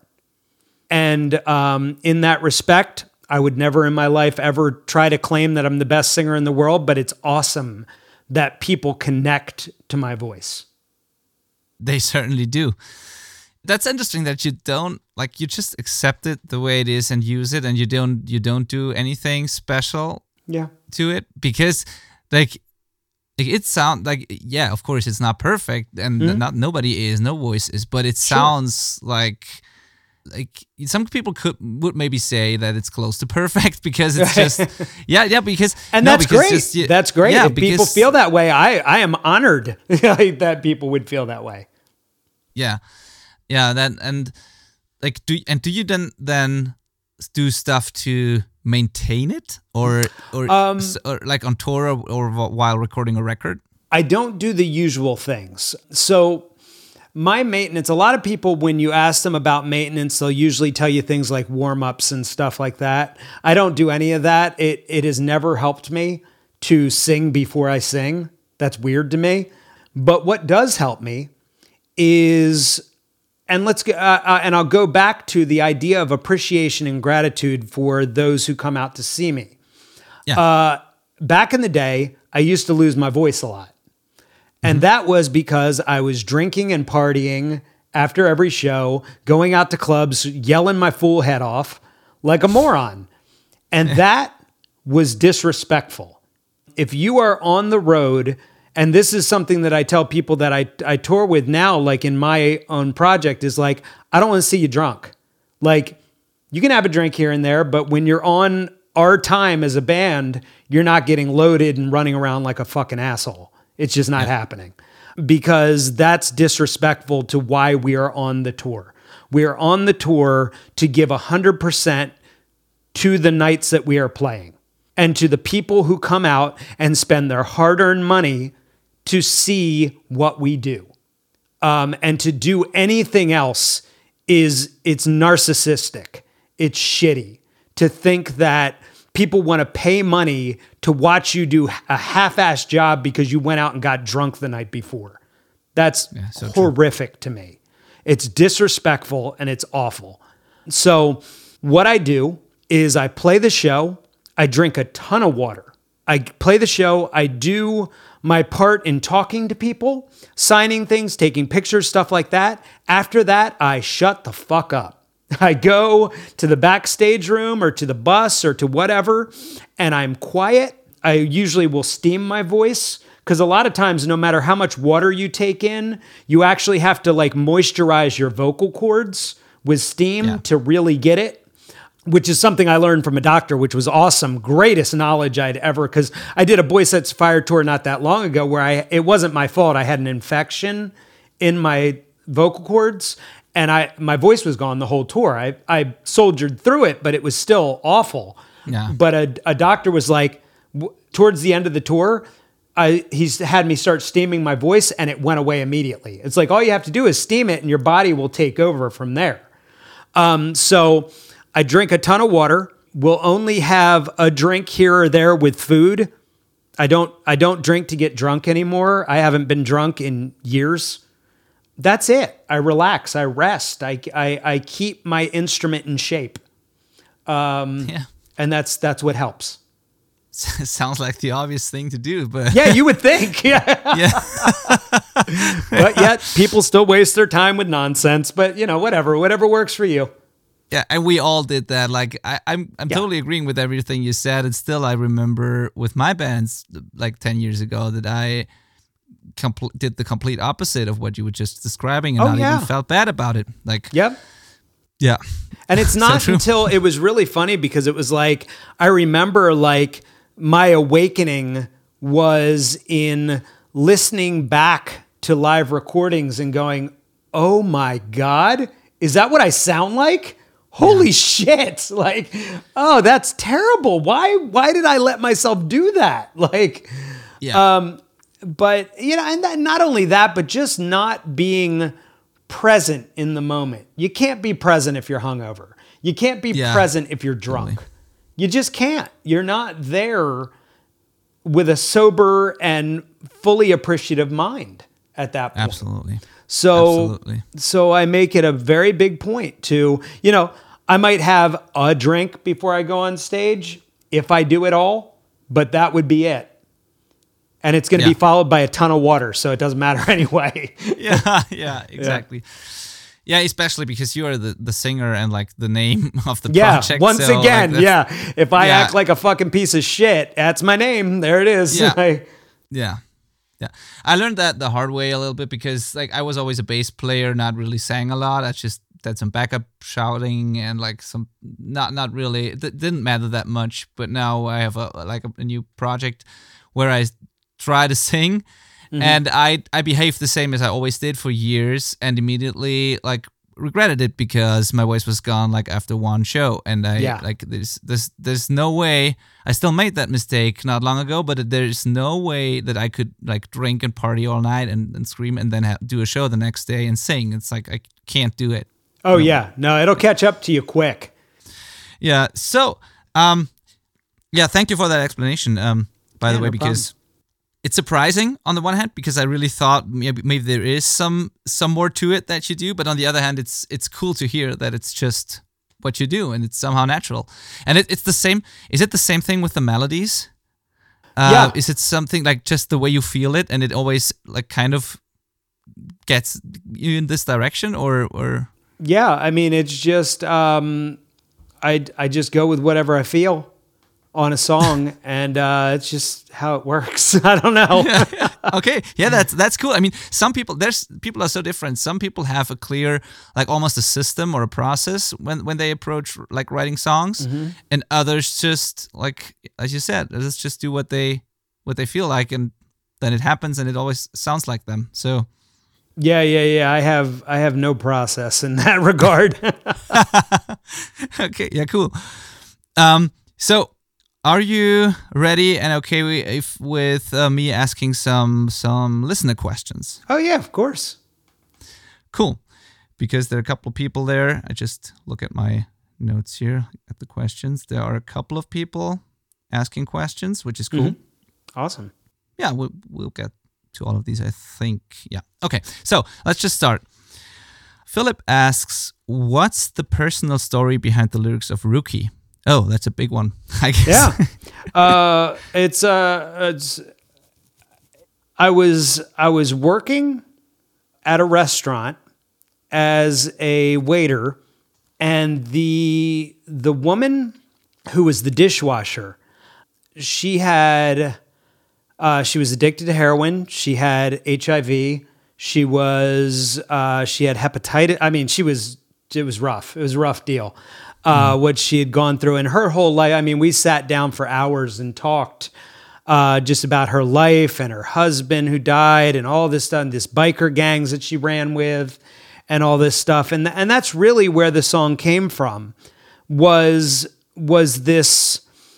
And um, in that respect, I would never in my life ever try to claim that I'm the best singer in the world, but it's awesome that people connect to my voice. They certainly do. That's interesting that you don't, like, you just accept it the way it is and use it, and you don't you don't do anything special yeah. to it, because like it sounds like, yeah, of course it's not perfect, and mm-hmm. not nobody is, no voice is, but it sounds sure. like like some people could would maybe say that it's close to perfect because it's just yeah yeah because and no, that's because great just, yeah, that's great yeah, if because, people feel that way. I I am honored that people would feel that way. Yeah, yeah. That and like do and do you then then do stuff to maintain it, or or, um, or like on tour or, or while recording a record? I don't do the usual things. So my maintenance, a lot of people, when you ask them about maintenance, they'll usually tell you things like warm-ups and stuff like that. I don't do any of that. It it has never helped me to sing before I sing. That's weird to me. But what does help me is, and let's go, uh, uh, and I'll go back to the idea of appreciation and gratitude for those who come out to see me. Yeah. Uh, back in the day, I used to lose my voice a lot. And that was because I was drinking and partying after every show, going out to clubs, yelling my fool head off like a moron. And that was disrespectful. If you are on the road, and this is something that I tell people that I, I tour with now, like in my own project, is like, I don't want to see you drunk. Like, you can have a drink here and there, but when you're on our time as a band, you're not getting loaded and running around like a fucking asshole. It's just not yeah. happening, because that's disrespectful to why we are on the tour. We are on the tour to give one hundred percent to the nights that we are playing and to the people who come out and spend their hard-earned money to see what we do. Um, and to do anything else is, it's narcissistic. It's shitty to think that people want to pay money to watch you do a half-assed job because you went out and got drunk the night before. That's yeah, so horrific true. to me. It's disrespectful and it's awful. So what I do is I play the show. I drink a ton of water. I play the show. I do my part in talking to people, signing things, taking pictures, stuff like that. After that, I shut the fuck up. I go to the backstage room or to the bus or to whatever, and I'm quiet. I usually will steam my voice because a lot of times, no matter how much water you take in, you actually have to like moisturize your vocal cords with steam yeah. to really get it. Which is something I learned from a doctor, which was awesome. Greatest knowledge I'd ever, because I did a Boy Sets Fire tour not that long ago where I it wasn't my fault. I had an infection in my vocal cords and I my voice was gone the whole tour. I, I soldiered through it, but it was still awful. Yeah. But a, a doctor was like, w- towards the end of the tour, I, he's had me start steaming my voice and it went away immediately. It's like, all you have to do is steam it and your body will take over from there. Um, so... I drink a ton of water. We'll only have a drink here or there with food. I don't I don't drink to get drunk anymore. I haven't been drunk in years. That's it. I relax. I rest. I, I, I keep my instrument in shape. Um, yeah. And that's that's what helps. Sounds like the obvious thing to do, but... Yeah, you would think. Yeah. yeah. But yet, people still waste their time with nonsense. But, you know, whatever. Whatever works for you. Yeah, and we all did that. Like, I, I'm I'm yeah. totally agreeing with everything you said. And still, I remember with my bands, like ten years ago, that I compl- did the complete opposite of what you were just describing and oh, not yeah. even felt bad about it. Like, yep. Yeah. And it's not so until it was really funny because it was like, I remember like my awakening was in listening back to live recordings and going, oh my God, is that what I sound like? Holy yeah. shit. Like, oh, that's terrible. Why, why did I let myself do that? Like, yeah. um, but you know, and that, not only that, but just not being present in the moment. You can't be present if you're hungover. You can't be yeah, present if you're drunk. Totally. You just can't. You're not there with a sober and fully appreciative mind at that point. Absolutely. So, Absolutely. so I make it a very big point to, you know, I might have a drink before I go on stage if I do it all, but that would be it. And it's going to yeah. be followed by a ton of water, so it doesn't matter anyway. yeah, yeah, exactly. Yeah. yeah, especially because you are the, the singer and like the name of the yeah, project. Once so, again, like, yeah. If I yeah. act like a fucking piece of shit, that's my name. There it is. Yeah. I, yeah. Yeah. I learned that the hard way a little bit because like I was always a bass player, not really sang a lot. I just did some backup shouting and like some not not really it didn't matter that much. But now I have a like a, a new project where I try to sing mm-hmm. and I I behave the same as I always did for years and immediately like regretted it because my voice was gone like after one show and I yeah. like there's there's there's no way I still made that mistake not long ago but there's no way that I could like drink and party all night and, and scream and then ha- do a show the next day and sing. It's like I can't do it. Oh no. yeah no it'll catch up to you quick. Yeah so um yeah thank you for that explanation um by yeah, the way no because problem. It's surprising on the one hand because I really thought maybe, maybe there is some some more to it that you do, but on the other hand, it's it's cool to hear that it's just what you do and it's somehow natural. And it, it's the same. Is it the same thing with the melodies? Uh, yeah. Is it something like just the way you feel it and it always like kind of gets you in this direction, or or? Yeah, I mean, it's just um, I I just go with whatever I feel on a song, and uh, it's just how it works. I don't know. yeah, yeah. Okay, yeah, that's that's cool. I mean, some people there's people are so different. Some people have a clear, like almost a system or a process when when they approach like writing songs, mm-hmm. and others just like as you said, let's just do what they what they feel like, and then it happens, and it always sounds like them. So. Yeah, yeah, yeah. I have I have no process in that regard. Okay, yeah, cool. Um, so. Are you ready and okay if, with uh, me asking some some listener questions? Oh, yeah, of course. Cool. Because there are a couple of people there. I just look at my notes here at the questions. There are a couple of people asking questions, which is cool. Mm-hmm. Awesome. Yeah, we'll, we'll get to all of these, I think. Yeah. Okay, so let's just start. Philip asks, what's the personal story behind the lyrics of Rookie? Oh, that's a big one, I guess. Yeah. uh, it's, uh, it's, I was, I was working at a restaurant as a waiter, and the, the woman who was the dishwasher, she had, uh, she was addicted to heroin. She had H I V. She was, uh, she had hepatitis. I mean, she was, it was rough. It was a rough deal, uh, mm. what she had gone through. And her whole life, I mean, we sat down for hours and talked uh, just about her life and her husband who died and all this stuff, and this biker gangs that she ran with and all this stuff. And, and that's really where the song came from, was, was this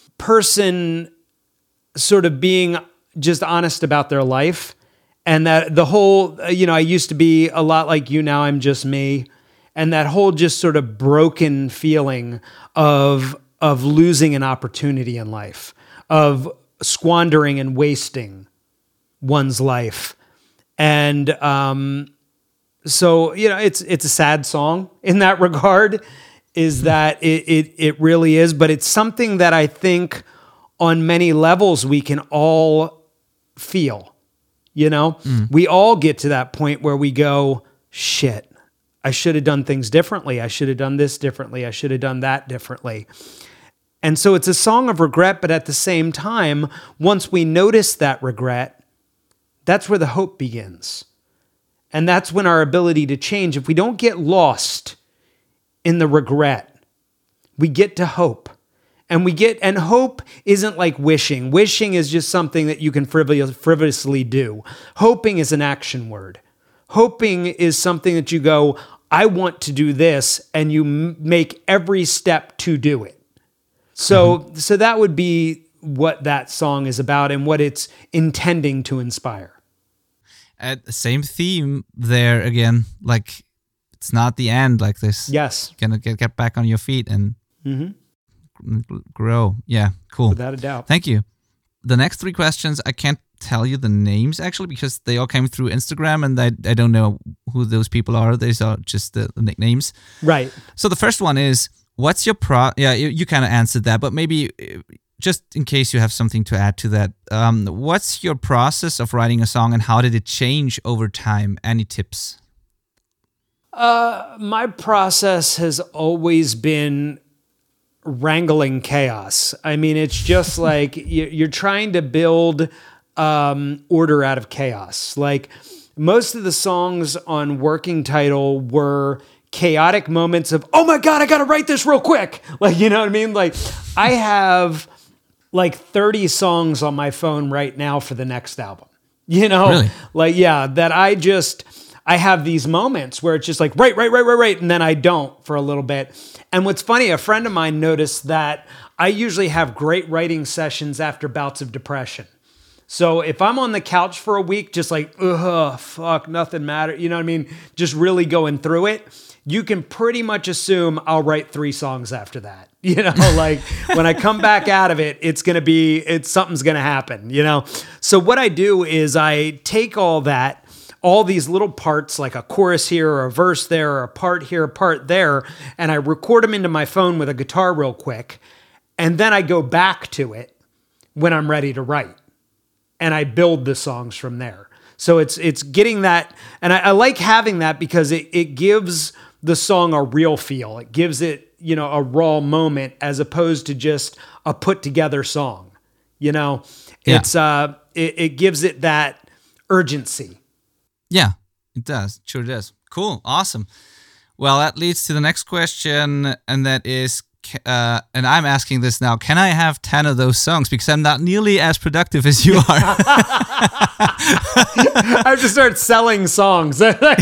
person sort of being just honest about their life. And that the whole, you know, I used to be a lot like you, now I'm just me. And that whole just sort of broken feeling of, of losing an opportunity in life, of squandering and wasting one's life. And um, so, you know, it's it's a sad song in that regard, is that it, it it really is. But it's something that I think on many levels we can all feel. You know, mm. we all get to that point where we go, shit, I should have done things differently. I should have done this differently. I should have done that differently. And so it's a song of regret, but at the same time, once we notice that regret, that's where the hope begins. And that's when our ability to change, if we don't get lost in the regret, we get to hope. And we get, and hope isn't like wishing. Wishing is just something that you can frivol- frivolously do. Hoping is an action word. Hoping is something that you go, I want to do this, and you m- make every step to do it. So, mm-hmm. so that would be what that song is about and what it's intending to inspire. At the same theme there again, like it's not the end, like this. Yes. You're gonna get, get back on your feet and mm-hmm. grow. Yeah, cool. Without a doubt. Thank you. The next three questions, I can't tell you the names actually because they all came through Instagram and I, I don't know who those people are. These are just the, the nicknames. Right. So the first one is, what's your pro... Yeah, you, you kind of answered that, but maybe just in case you have something to add to that, um, what's your process of writing a song and how did it change over time? Any tips? Uh, my process has always been wrangling chaos. I mean, it's just like you're trying to build um, order out of chaos. Like most of the songs on Working Title were chaotic moments of, oh my God, I got to write this real quick. Like, you know what I mean? Like I have like thirty songs on my phone right now for the next album, you know, really? Like, yeah, that I just, I have these moments where it's just like, right, right, right, right, right. And then I don't for a little bit. And what's funny, a friend of mine noticed that I usually have great writing sessions after bouts of depression. So if I'm on the couch for a week, just like, ugh, fuck, nothing matters. You know what I mean? Just really going through it. You can pretty much assume I'll write three songs after that. You know, like when I come back out of it, it's going to be, it's something's going to happen, you know? So what I do is I take all that, all these little parts, like a chorus here or a verse there or a part here, a part there, and I record them into my phone with a guitar real quick. And then I go back to it when I'm ready to write. And I build the songs from there. So it's it's getting that, and I, I like having that because it, it gives the song a real feel. It gives it, you know, a raw moment as opposed to just a put together song. You know, yeah. it's uh, it, it gives it that urgency. Yeah, it does. Sure does. Cool. Awesome. Well, that leads to the next question, and that is, uh, and I'm asking this now, can I have ten of those songs? Because I'm not nearly as productive as you are. I have to start selling songs.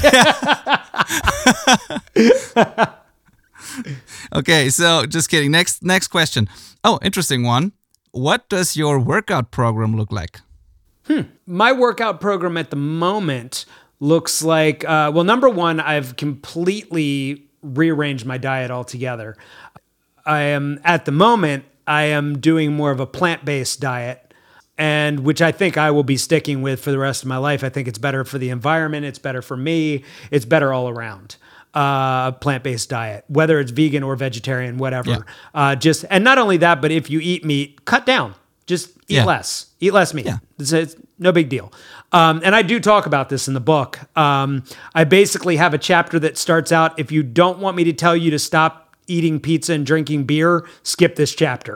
Okay, so just kidding. Next, next question. Oh, interesting one. What does your workout program look like? Hmm. My workout program at the moment looks like, uh, well, number one, I've completely rearranged my diet altogether. I am, at the moment, I am doing more of a plant-based diet, and which I think I will be sticking with for the rest of my life. I think it's better for the environment. It's better for me. It's better all around. uh, plant-based diet, whether it's vegan or vegetarian, whatever. Yeah. Uh, just and not only that, but if you eat meat, cut down. Just eat Yeah. less. Eat less meat. Yeah. It's, it's no big deal. Um, and I do talk about this in the book. Um, I basically have a chapter that starts out, if you don't want me to tell you to stop eating pizza and drinking beer, skip this chapter.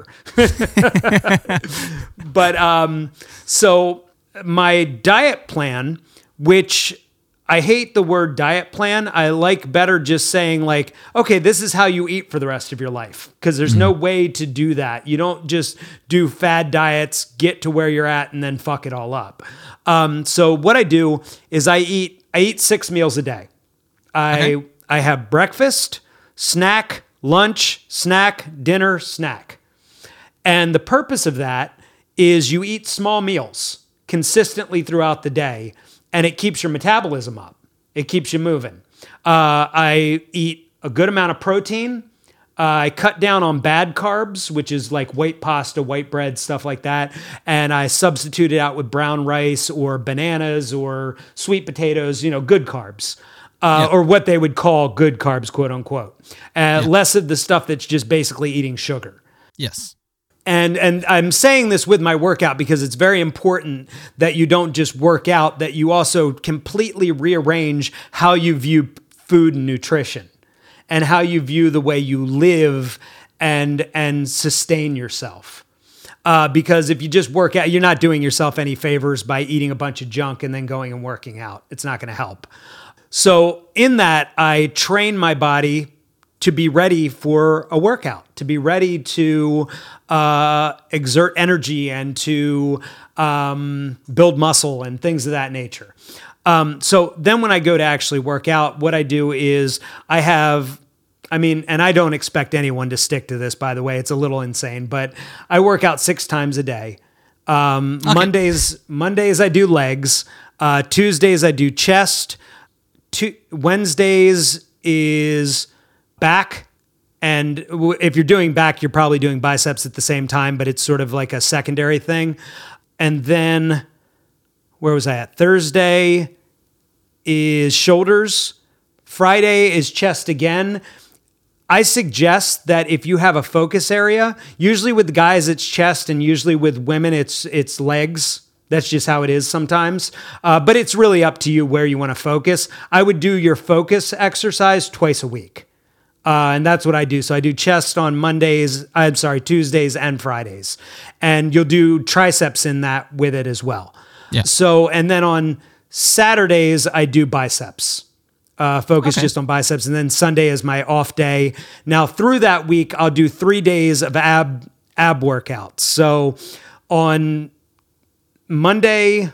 But um, so my diet plan, which I hate the word diet plan. I like better just saying like, okay, this is how you eat for the rest of your life. Because there's mm-hmm. no way to do that. You don't just do fad diets, get to where you're at, and then fuck it all up. Um, so what I do is I eat I eat six meals a day. I okay. I have breakfast, snack, lunch, snack, dinner, snack. And the purpose of that is you eat small meals consistently throughout the day, and it keeps your metabolism up. It keeps you moving. Uh, I eat a good amount of protein. Uh, I cut down on bad carbs, which is like white pasta, white bread, stuff like that. And I substitute it out with brown rice or bananas or sweet potatoes, you know, good carbs. Uh, yep. Or what they would call good carbs, quote unquote. Uh, yep. Less of the stuff that's just basically eating sugar. Yes. And and I'm saying this with my workout because it's very important that you don't just work out, that you also completely rearrange how you view food and nutrition and how you view the way you live and and sustain yourself. Uh, because if you just work out, you're not doing yourself any favors by eating a bunch of junk and then going and working out. It's not going to help. So in that, I train my body to be ready for a workout, to be ready to uh, exert energy and to um, build muscle and things of that nature. Um, so then when I go to actually work out, what I do is I have, I mean, and I don't expect anyone to stick to this, by the way, it's a little insane, but I work out six times a day. Um, okay. Mondays, Mondays I do legs. Uh, Tuesdays I do chest. Two, Wednesdays is back. And if you're doing back, you're probably doing biceps at the same time, but it's sort of like a secondary thing. And then, where was I at? Thursday is shoulders. Friday is chest again. I suggest that if you have a focus area, usually with guys it's chest and usually with women it's it's legs. That's just how it is sometimes. Uh, but it's really up to you where you want to focus. I would do your focus exercise twice a week. Uh, and that's what I do. So I do chest on Mondays, I'm sorry, Tuesdays and Fridays. And you'll do triceps in that with it as well. Yeah. So, and then on Saturdays, I do biceps. Uh, focus okay. just on biceps. And then Sunday is my off day. Now through that week, I'll do three days of ab ab workouts. So on Monday,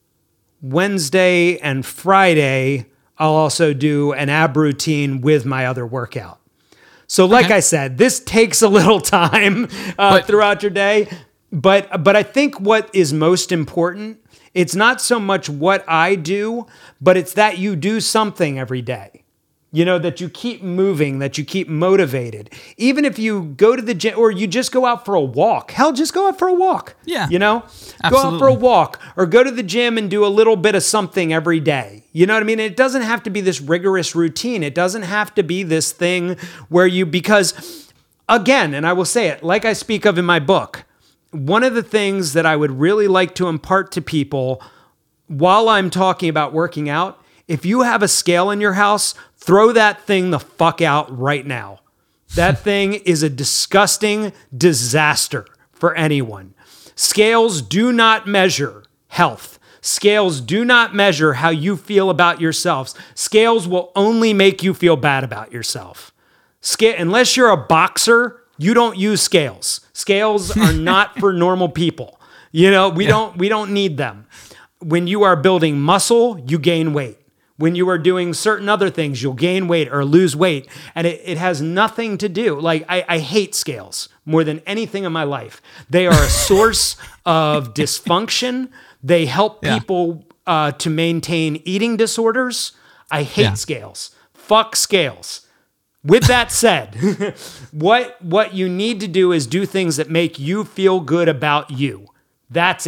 Wednesday, and Friday, I'll also do an ab routine with my other workout. So like okay. I said, this takes a little time uh, but, throughout your day. But but I think what is most important, it's not so much what I do, but it's that you do something every day. You know, that you keep moving, that you keep motivated. Even if you go to the gym or you just go out for a walk. Hell, just go out for a walk. Yeah. You know? Absolutely. Go out for a walk or go to the gym and do a little bit of something every day. You know what I mean? It doesn't have to be this rigorous routine. It doesn't have to be this thing where you, because again, and I will say it, like I speak of in my book, one of the things that I would really like to impart to people while I'm talking about working out, if you have a scale in your house, throw that thing the fuck out right now. That thing is a disgusting disaster for anyone. Scales do not measure health. Scales do not measure how you feel about yourselves. Scales will only make you feel bad about yourself. Scale, unless you're a boxer, you don't use scales. Scales are not for normal people. You know, we yeah. don't we don't need them. When you are building muscle, you gain weight. When you are doing certain other things, you'll gain weight or lose weight. And it, it has nothing to do. Like, I, I hate scales more than anything in my life. They are a source of dysfunction. They help yeah. people uh, to maintain eating disorders. I hate yeah. scales. Fuck scales. With that said, what, what you need to do is do things that make you feel good about you. That's it.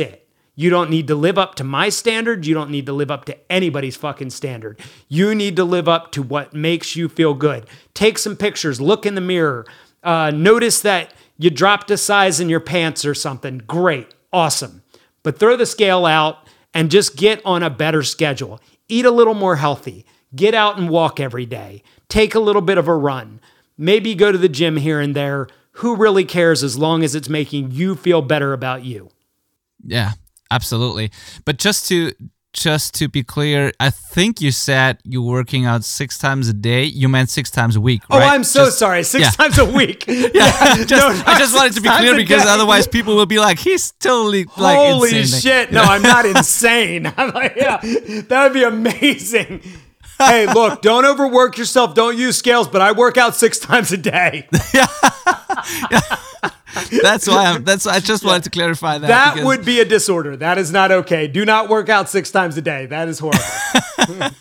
You don't need to live up to my standard. You don't need to live up to anybody's fucking standard. You need to live up to what makes you feel good. Take some pictures, look in the mirror, uh, notice that you dropped a size in your pants or something. Great, awesome. But throw the scale out and just get on a better schedule. Eat a little more healthy. Get out and walk every day. Take a little bit of a run. Maybe go to the gym here and there. Who really cares as long as it's making you feel better about you? Yeah, absolutely. But just to just to be clear, I think you said you're working out six times a day. You meant six times a week, right? Oh, I'm so just, sorry. Six yeah. times a week. yeah, just, no, I just wanted to be clear because otherwise people will be like, he's totally like Holy insane. shit. No, I'm not insane. I'm like, yeah, that would be amazing. Hey, look, don't overwork yourself. Don't use scales, but I work out six times a day. yeah. yeah. That's why I'm, that's why I just wanted to clarify that. That because... would be a disorder. That is not okay. Do not work out six times a day. That is horrible.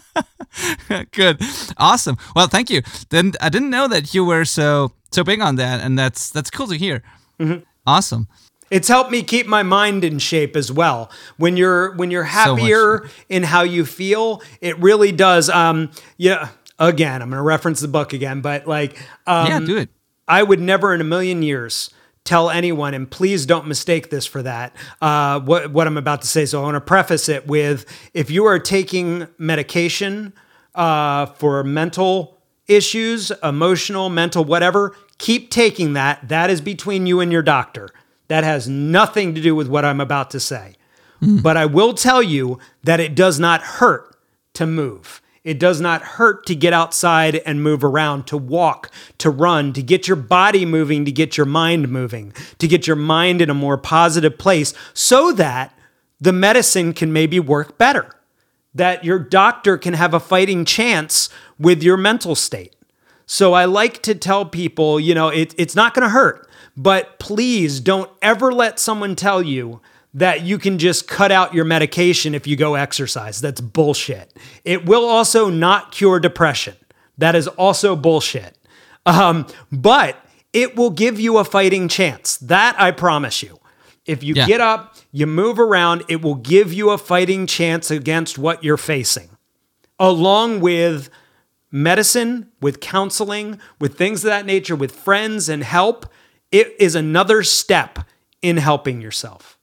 Good. Awesome. Well, thank you. Then I didn't know that you were so so big on that, and that's that's cool to hear. Mm-hmm. Awesome. It's helped me keep my mind in shape as well. When you're when you're happier so in how you feel, it really does. Um, yeah. Again, I'm going to reference the book again, but like, um, yeah, do it. I would never in a million years tell anyone, and please don't mistake this for that, uh, what, what I'm about to say. So I want to preface it with, if you are taking medication uh, for mental issues, emotional, mental, whatever, keep taking that. That is between you and your doctor. That has nothing to do with what I'm about to say. Mm. But I will tell you that it does not hurt to move. It does not hurt to get outside and move around, to walk, to run, to get your body moving, to get your mind moving, to get your mind in a more positive place so that the medicine can maybe work better, that your doctor can have a fighting chance with your mental state. So I like to tell people, you know, it, it's not going to hurt, but please don't ever let someone tell you that you can just cut out your medication if you go exercise. That's bullshit. It will also not cure depression. That is also bullshit. Um, but it will give you a fighting chance. That I promise you. If you yeah. get up, you move around, it will give you a fighting chance against what you're facing. Along with medicine, with counseling, with things of that nature, with friends and help, it is another step in helping yourself.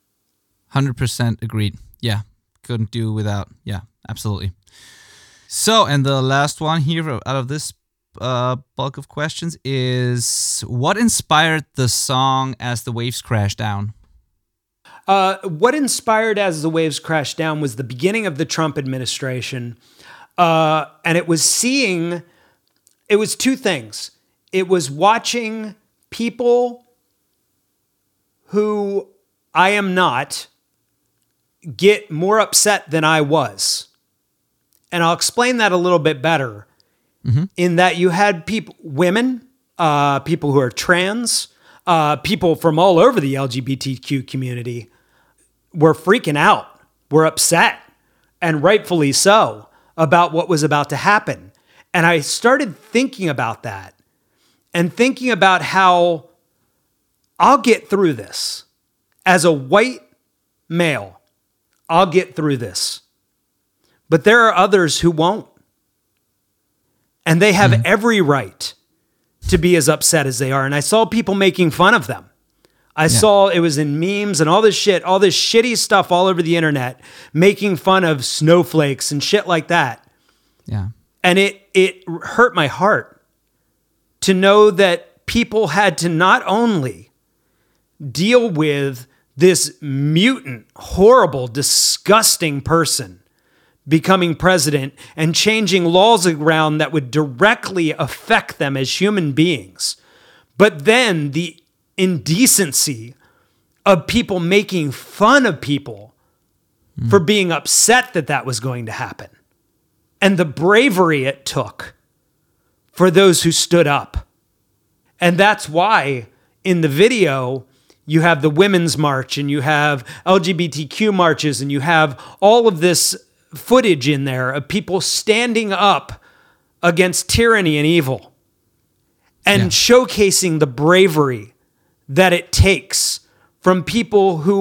one hundred percent agreed. Yeah, couldn't do without. Yeah, absolutely. So, and the last one here out of this uh, bulk of questions is, what inspired the song As the Waves Crash Down? Uh, what inspired As the Waves Crash Down was the beginning of the Trump administration. Uh, and it was seeing, it was two things. It was watching people who I am not get more upset than I was. And I'll explain that a little bit better mm-hmm. in that you had people, women, uh, people who are trans, uh, people from all over the L G B T Q community were freaking out, were upset, and rightfully so, about what was about to happen. And I started thinking about that and thinking about how I'll get through this. As a white male, I'll get through this. But there are others who won't. And they have mm-hmm. every right to be as upset as they are. And I saw people making fun of them. I yeah. saw it was in memes and all this shit, all this shitty stuff all over the internet, making fun of snowflakes and shit like that. Yeah. And it it hurt my heart to know that people had to not only deal with this mutant, horrible, disgusting person becoming president and changing laws around that would directly affect them as human beings, but then the indecency of people making fun of people mm. for being upset that that was going to happen, and the bravery it took for those who stood up. And that's why in the video, you have the Women's March and you have L G B T Q marches and you have all of this footage in there of people standing up against tyranny and evil and yeah. showcasing the bravery that it takes from people who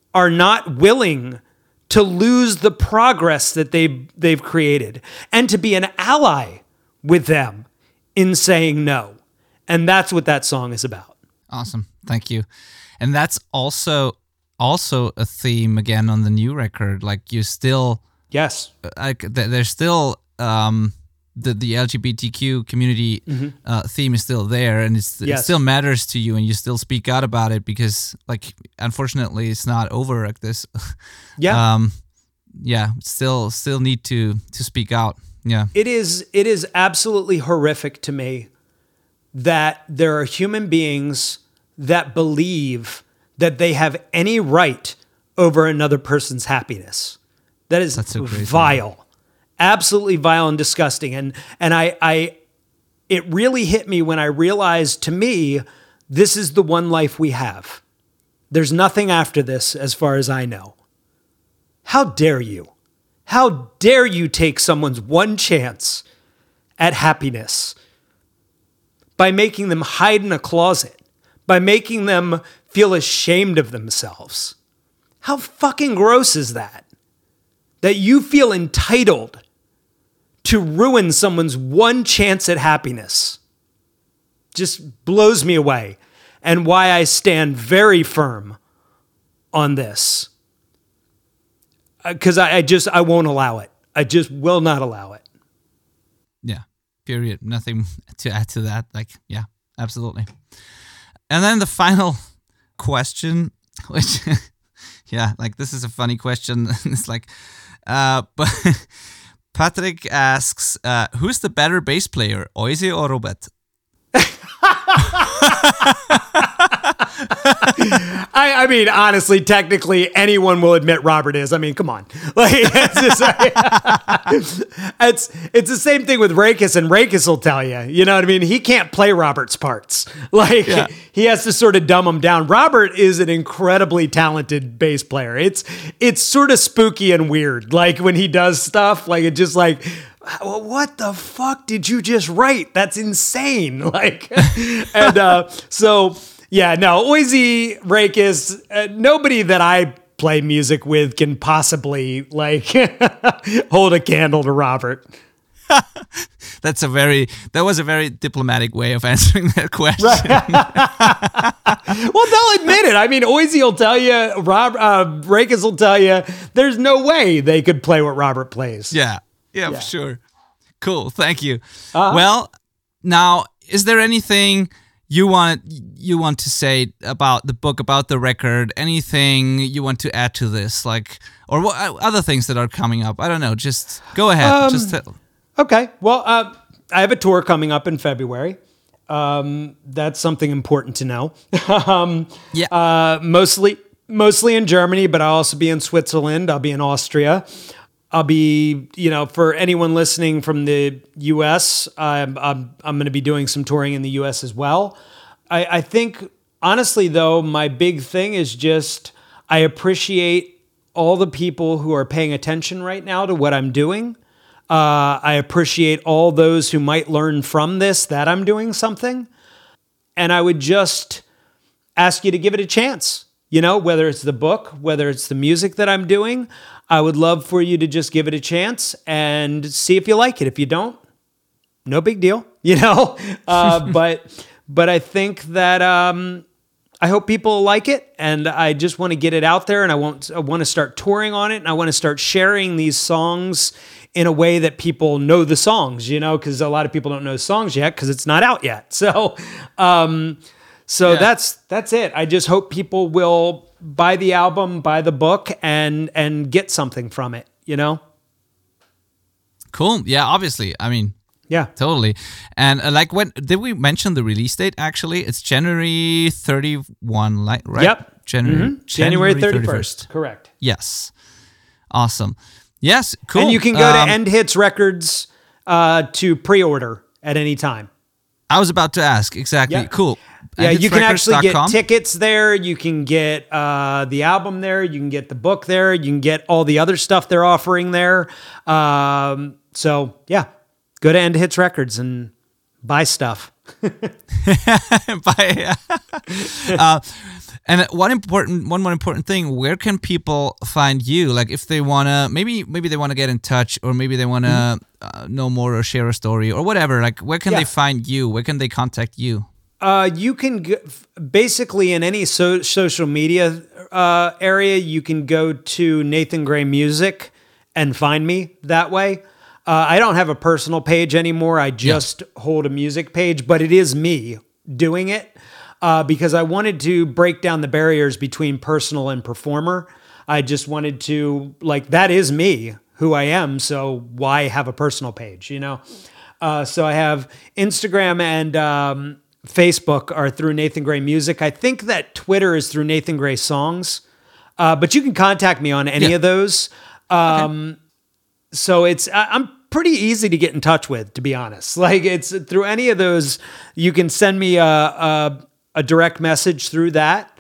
are not willing to lose the progress that they they've created and to be an ally with them in saying no. And that's what that song is about. Awesome. Thank you. And that's also also a theme again on the new record. Like you still Yes. Like there's still um the the L G B T Q community mm-hmm. uh, theme is still there, and it's, yes. it still matters to you, and you still speak out about it because, like, unfortunately, it's not over like this. Yeah, um, yeah, still still need to to speak out. Yeah, it is it is absolutely horrific to me that there are human beings that believe that they have any right over another person's happiness. That is so vile. Thing. Absolutely vile and disgusting. And and I, I, it really hit me when I realized, to me, this is the one life we have. There's nothing after this, as far as I know. How dare you? How dare you take someone's one chance at happiness by making them hide in a closet, by making them feel ashamed of themselves? How fucking gross is that? That you feel entitled to ruin someone's one chance at happiness just blows me away, and why I stand very firm on this. Because I, I just, I won't allow it. I just will not allow it. Yeah, period. Nothing to add to that. Like, yeah, absolutely. And then the final question, which, yeah, like this is a funny question. It's like, uh, but... Patrick asks, uh, who's the better bass player, Oise or Robert? I, I mean, honestly, technically, anyone will admit Robert is. I mean, come on. Like, it's, just, like, it's it's the same thing with Rakis, and Rakis will tell you. You know what I mean? He can't play Robert's parts. Like, yeah. He has to sort of dumb them down. Robert is an incredibly talented bass player. It's it's sort of spooky and weird. Like when he does stuff, like it just like, what the fuck did you just write? That's insane. Like, and uh, so. Yeah, no, Oise, Rakis, uh, nobody that I play music with can possibly, like, hold a candle to Robert. That's a very, that was a very diplomatic way of answering that question. Right. Well, they'll admit it. I mean, Oise will tell you, Rob, uh, Rakis will tell you, there's no way they could play what Robert plays. Yeah, yeah, yeah. For sure. Cool, thank you. Uh-huh. Well, now, is there anything... You want you want to say about the book, about the record, anything you want to add to this, like, or what other things that are coming up? I don't know. Just go ahead. Um, just tell. Okay. Well, uh, I have a tour coming up in February. Um, that's something important to know. um, yeah. Uh, mostly mostly in Germany, but I'll also be in Switzerland. I'll be in Austria. I'll be, you know, for anyone listening from the U S, I'm I'm, I'm going to be doing some touring in the U S as well. I, I think, honestly, though, my big thing is just I appreciate all the people who are paying attention right now to what I'm doing. Uh, I appreciate all those who might learn from this that I'm doing something. And I would just ask you to give it a chance. You know, whether it's the book, whether it's the music that I'm doing, I would love for you to just give it a chance and see if you like it. If you don't, no big deal, you know. Uh, but but I think that um, I hope people like it, and I just want to get it out there, and I want I want to start touring on it, and I want to start sharing these songs in a way that people know the songs, you know, because a lot of people don't know songs yet because it's not out yet. So. Um, So yeah. that's that's it. I just hope people will buy the album, buy the book, and and get something from it, you know? Cool. Yeah, obviously. I mean, yeah. Totally. And uh, like when did we mention the release date actually? It's January thirty-first, like, right? Yep. January mm-hmm. January thirty-first. Correct. Yes. Awesome. Yes, cool. And you can go um, to End Hits Records uh, to pre-order at any time. I was about to ask. Exactly. Yeah. Cool. Yeah, you can actually get tickets there. You can get uh, the album there. You can get the book there. You can get all the other stuff they're offering there. Um, so, yeah, go to End Hits Records and buy stuff. buy, uh, And one important, one more important thing: where can people find you? Like, if they wanna, maybe, maybe they wanna get in touch, or maybe they wanna mm-hmm. uh, know more or share a story or whatever. Like, where can yeah. they find you? Where can they contact you? Uh, you can go, basically in any so, social media uh, area, you can go to Nathan Gray Music and find me that way. Uh, I don't have a personal page anymore. I just yeah. hold a music page, but it is me doing it uh, because I wanted to break down the barriers between personal and performer. I just wanted to, like, that is me, who I am, so why have a personal page, you know? Uh, so I have Instagram and um, Facebook are through Nathan Gray Music. I think that Twitter is through Nathan Gray Songs, uh, but you can contact me on any yeah. of those. Um, okay. So it's I'm pretty easy to get in touch with, to be honest. Like, it's through any of those. You can send me a a, a direct message through that,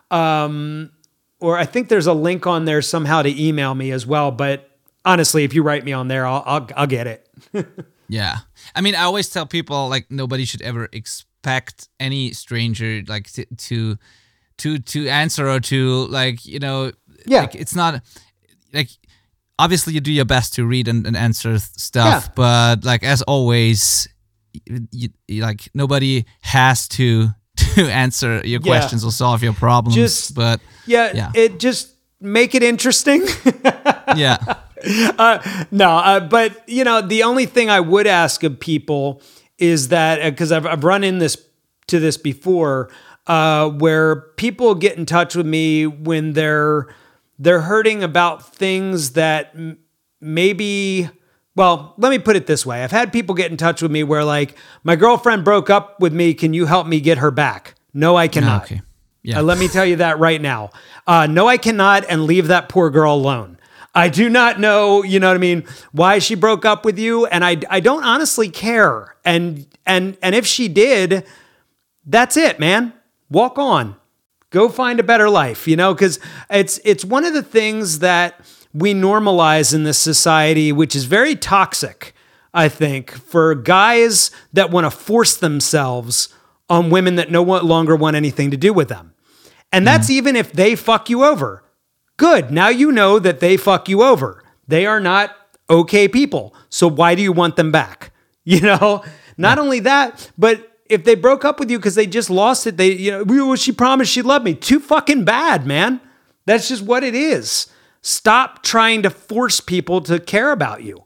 um, or I think there's a link on there somehow to email me as well. But honestly, if you write me on there, I'll I'll, I'll get it. Yeah, I mean, I always tell people, like, nobody should ever expect any stranger like to to to, to answer or to, like, you know, yeah, like, it's not like. Obviously, you do your best to read and, and answer stuff, yeah. but, like, as always, you, you, like, nobody has to to answer your yeah. questions or solve your problems. Just, but yeah, yeah, it just make it interesting. yeah. Uh, no, uh, but, you know, the only thing I would ask of people is that, because I've I've run in this to this before, uh, where people get in touch with me when they're They're hurting about things that m- maybe, well, let me put it this way. I've had people get in touch with me where, like, my girlfriend broke up with me. Can you help me get her back? No, I cannot. Okay. Yeah. Uh, let me tell you that right now. Uh, no, I cannot, and leave that poor girl alone. I do not know, you know what I mean, why she broke up with you, and I, I don't honestly care. And and and if she did, that's it, man. Walk on. Go find a better life, you know, because it's it's one of the things that we normalize in this society, which is very toxic, I think, for guys that want to force themselves on women that no longer want anything to do with them. And that's mm. even if they fuck you over. Good. Now you know that they fuck you over. They are not okay people. So why do you want them back? You know, not yeah. only that, but if they broke up with you because they just lost it, they, you know, she promised she'd love me. Too fucking bad, man. That's just what it is. Stop trying to force people to care about you.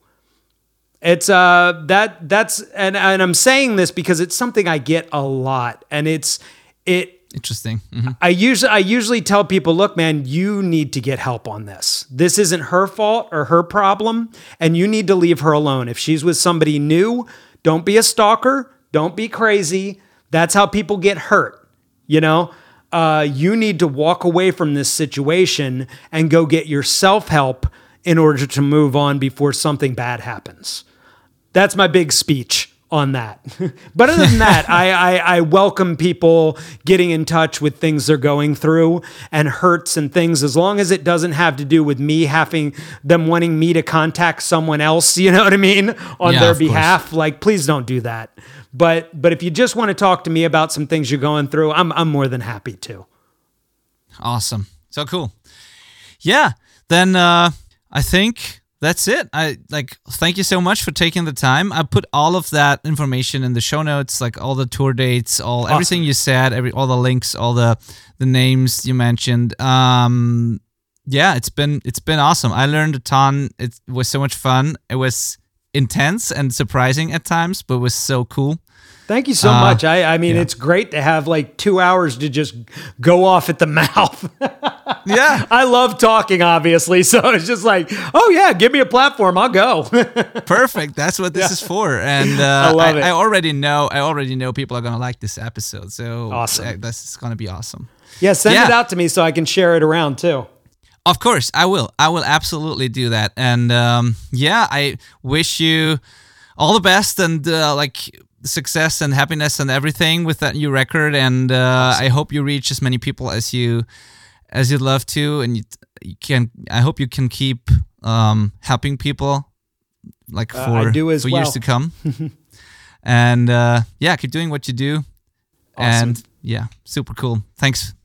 It's uh that that's and and I'm saying this because it's something I get a lot, and it's it. Interesting. Mm-hmm. I usually I usually tell people, look, man, you need to get help on this. This isn't her fault or her problem, and you need to leave her alone. If she's with somebody new, don't be a stalker. Don't be crazy. That's how people get hurt. You know, uh, you need to walk away from this situation and go get your self-help in order to move on before something bad happens. That's my big speech on that. But other than that, I, I, I welcome people getting in touch with things they're going through and hurts and things, as long as it doesn't have to do with me having them wanting me to contact someone else, you know what I mean, on yeah, their of behalf. course. Like, please don't do that. But but if you just want to talk to me about some things you're going through, I'm I'm more than happy to. Awesome. So cool. Yeah. Then uh, I think that's it. I like thank you so much for taking the time. I put all of that information in the show notes, like all the tour dates, all awesome. everything you said, every all the links, all the the names you mentioned. Um, yeah, it's been it's been awesome. I learned a ton. It was so much fun. It was intense and surprising at times, but it was so cool. Thank you so uh, much. I, I mean, yeah. It's great to have like two hours to just go off at the mouth. Yeah. I love talking, obviously. So it's just like, oh yeah, give me a platform. I'll go. Perfect. That's what this yeah. is for. And uh, I love I, it. I already know, I already know people are going to like this episode. So awesome. uh, this is going to be awesome. Yeah. Send yeah. it out to me so I can share it around too. Of course, I will. I will absolutely do that. And um, yeah, I wish you all the best and uh, like success and happiness and everything with that new record. And uh, awesome. I hope you reach as many people as you as you'd love to. And you, you can. I hope you can keep um, helping people like for, uh, I do as for well. years to come. And uh, yeah, keep doing what you do. Awesome. And yeah, super cool. Thanks.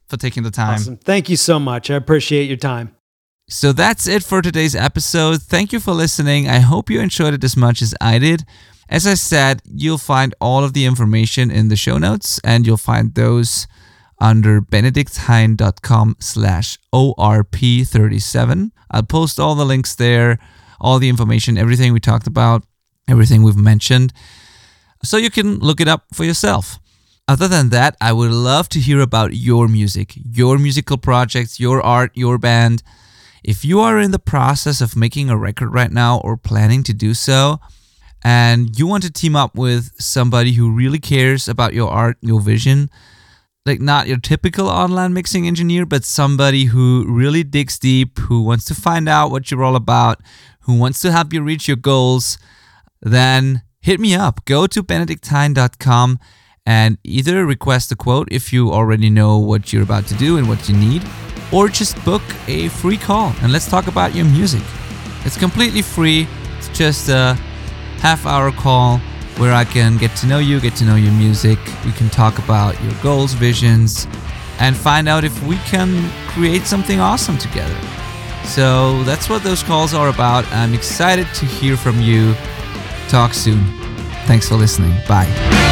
for taking the time. Awesome. Thank you so much. I appreciate your time. So that's it for today's episode. Thank you for listening. I hope you enjoyed it as much as I did. As I said, you'll find all of the information in the show notes, and you'll find those under benedikthein.com slash ORP37. I'll post all the links there, all the information, everything we talked about, everything we've mentioned, so you can look it up for yourself. Other than that, I would love to hear about your music, your musical projects, your art, your band. If you are in the process of making a record right now or planning to do so, and you want to team up with somebody who really cares about your art, your vision, like not your typical online mixing engineer, but somebody who really digs deep, who wants to find out what you're all about, who wants to help you reach your goals, then hit me up. Go to benedikthein dot com and either request a quote if you already know what you're about to do and what you need, or just book a free call and let's talk about your music. It's completely free. It's just a half hour call where I can get to know you, get to know your music. We can talk about your goals, visions, and find out if we can create something awesome together. So that's what those calls are about. I'm excited to hear from you. Talk soon. Thanks for listening. Bye.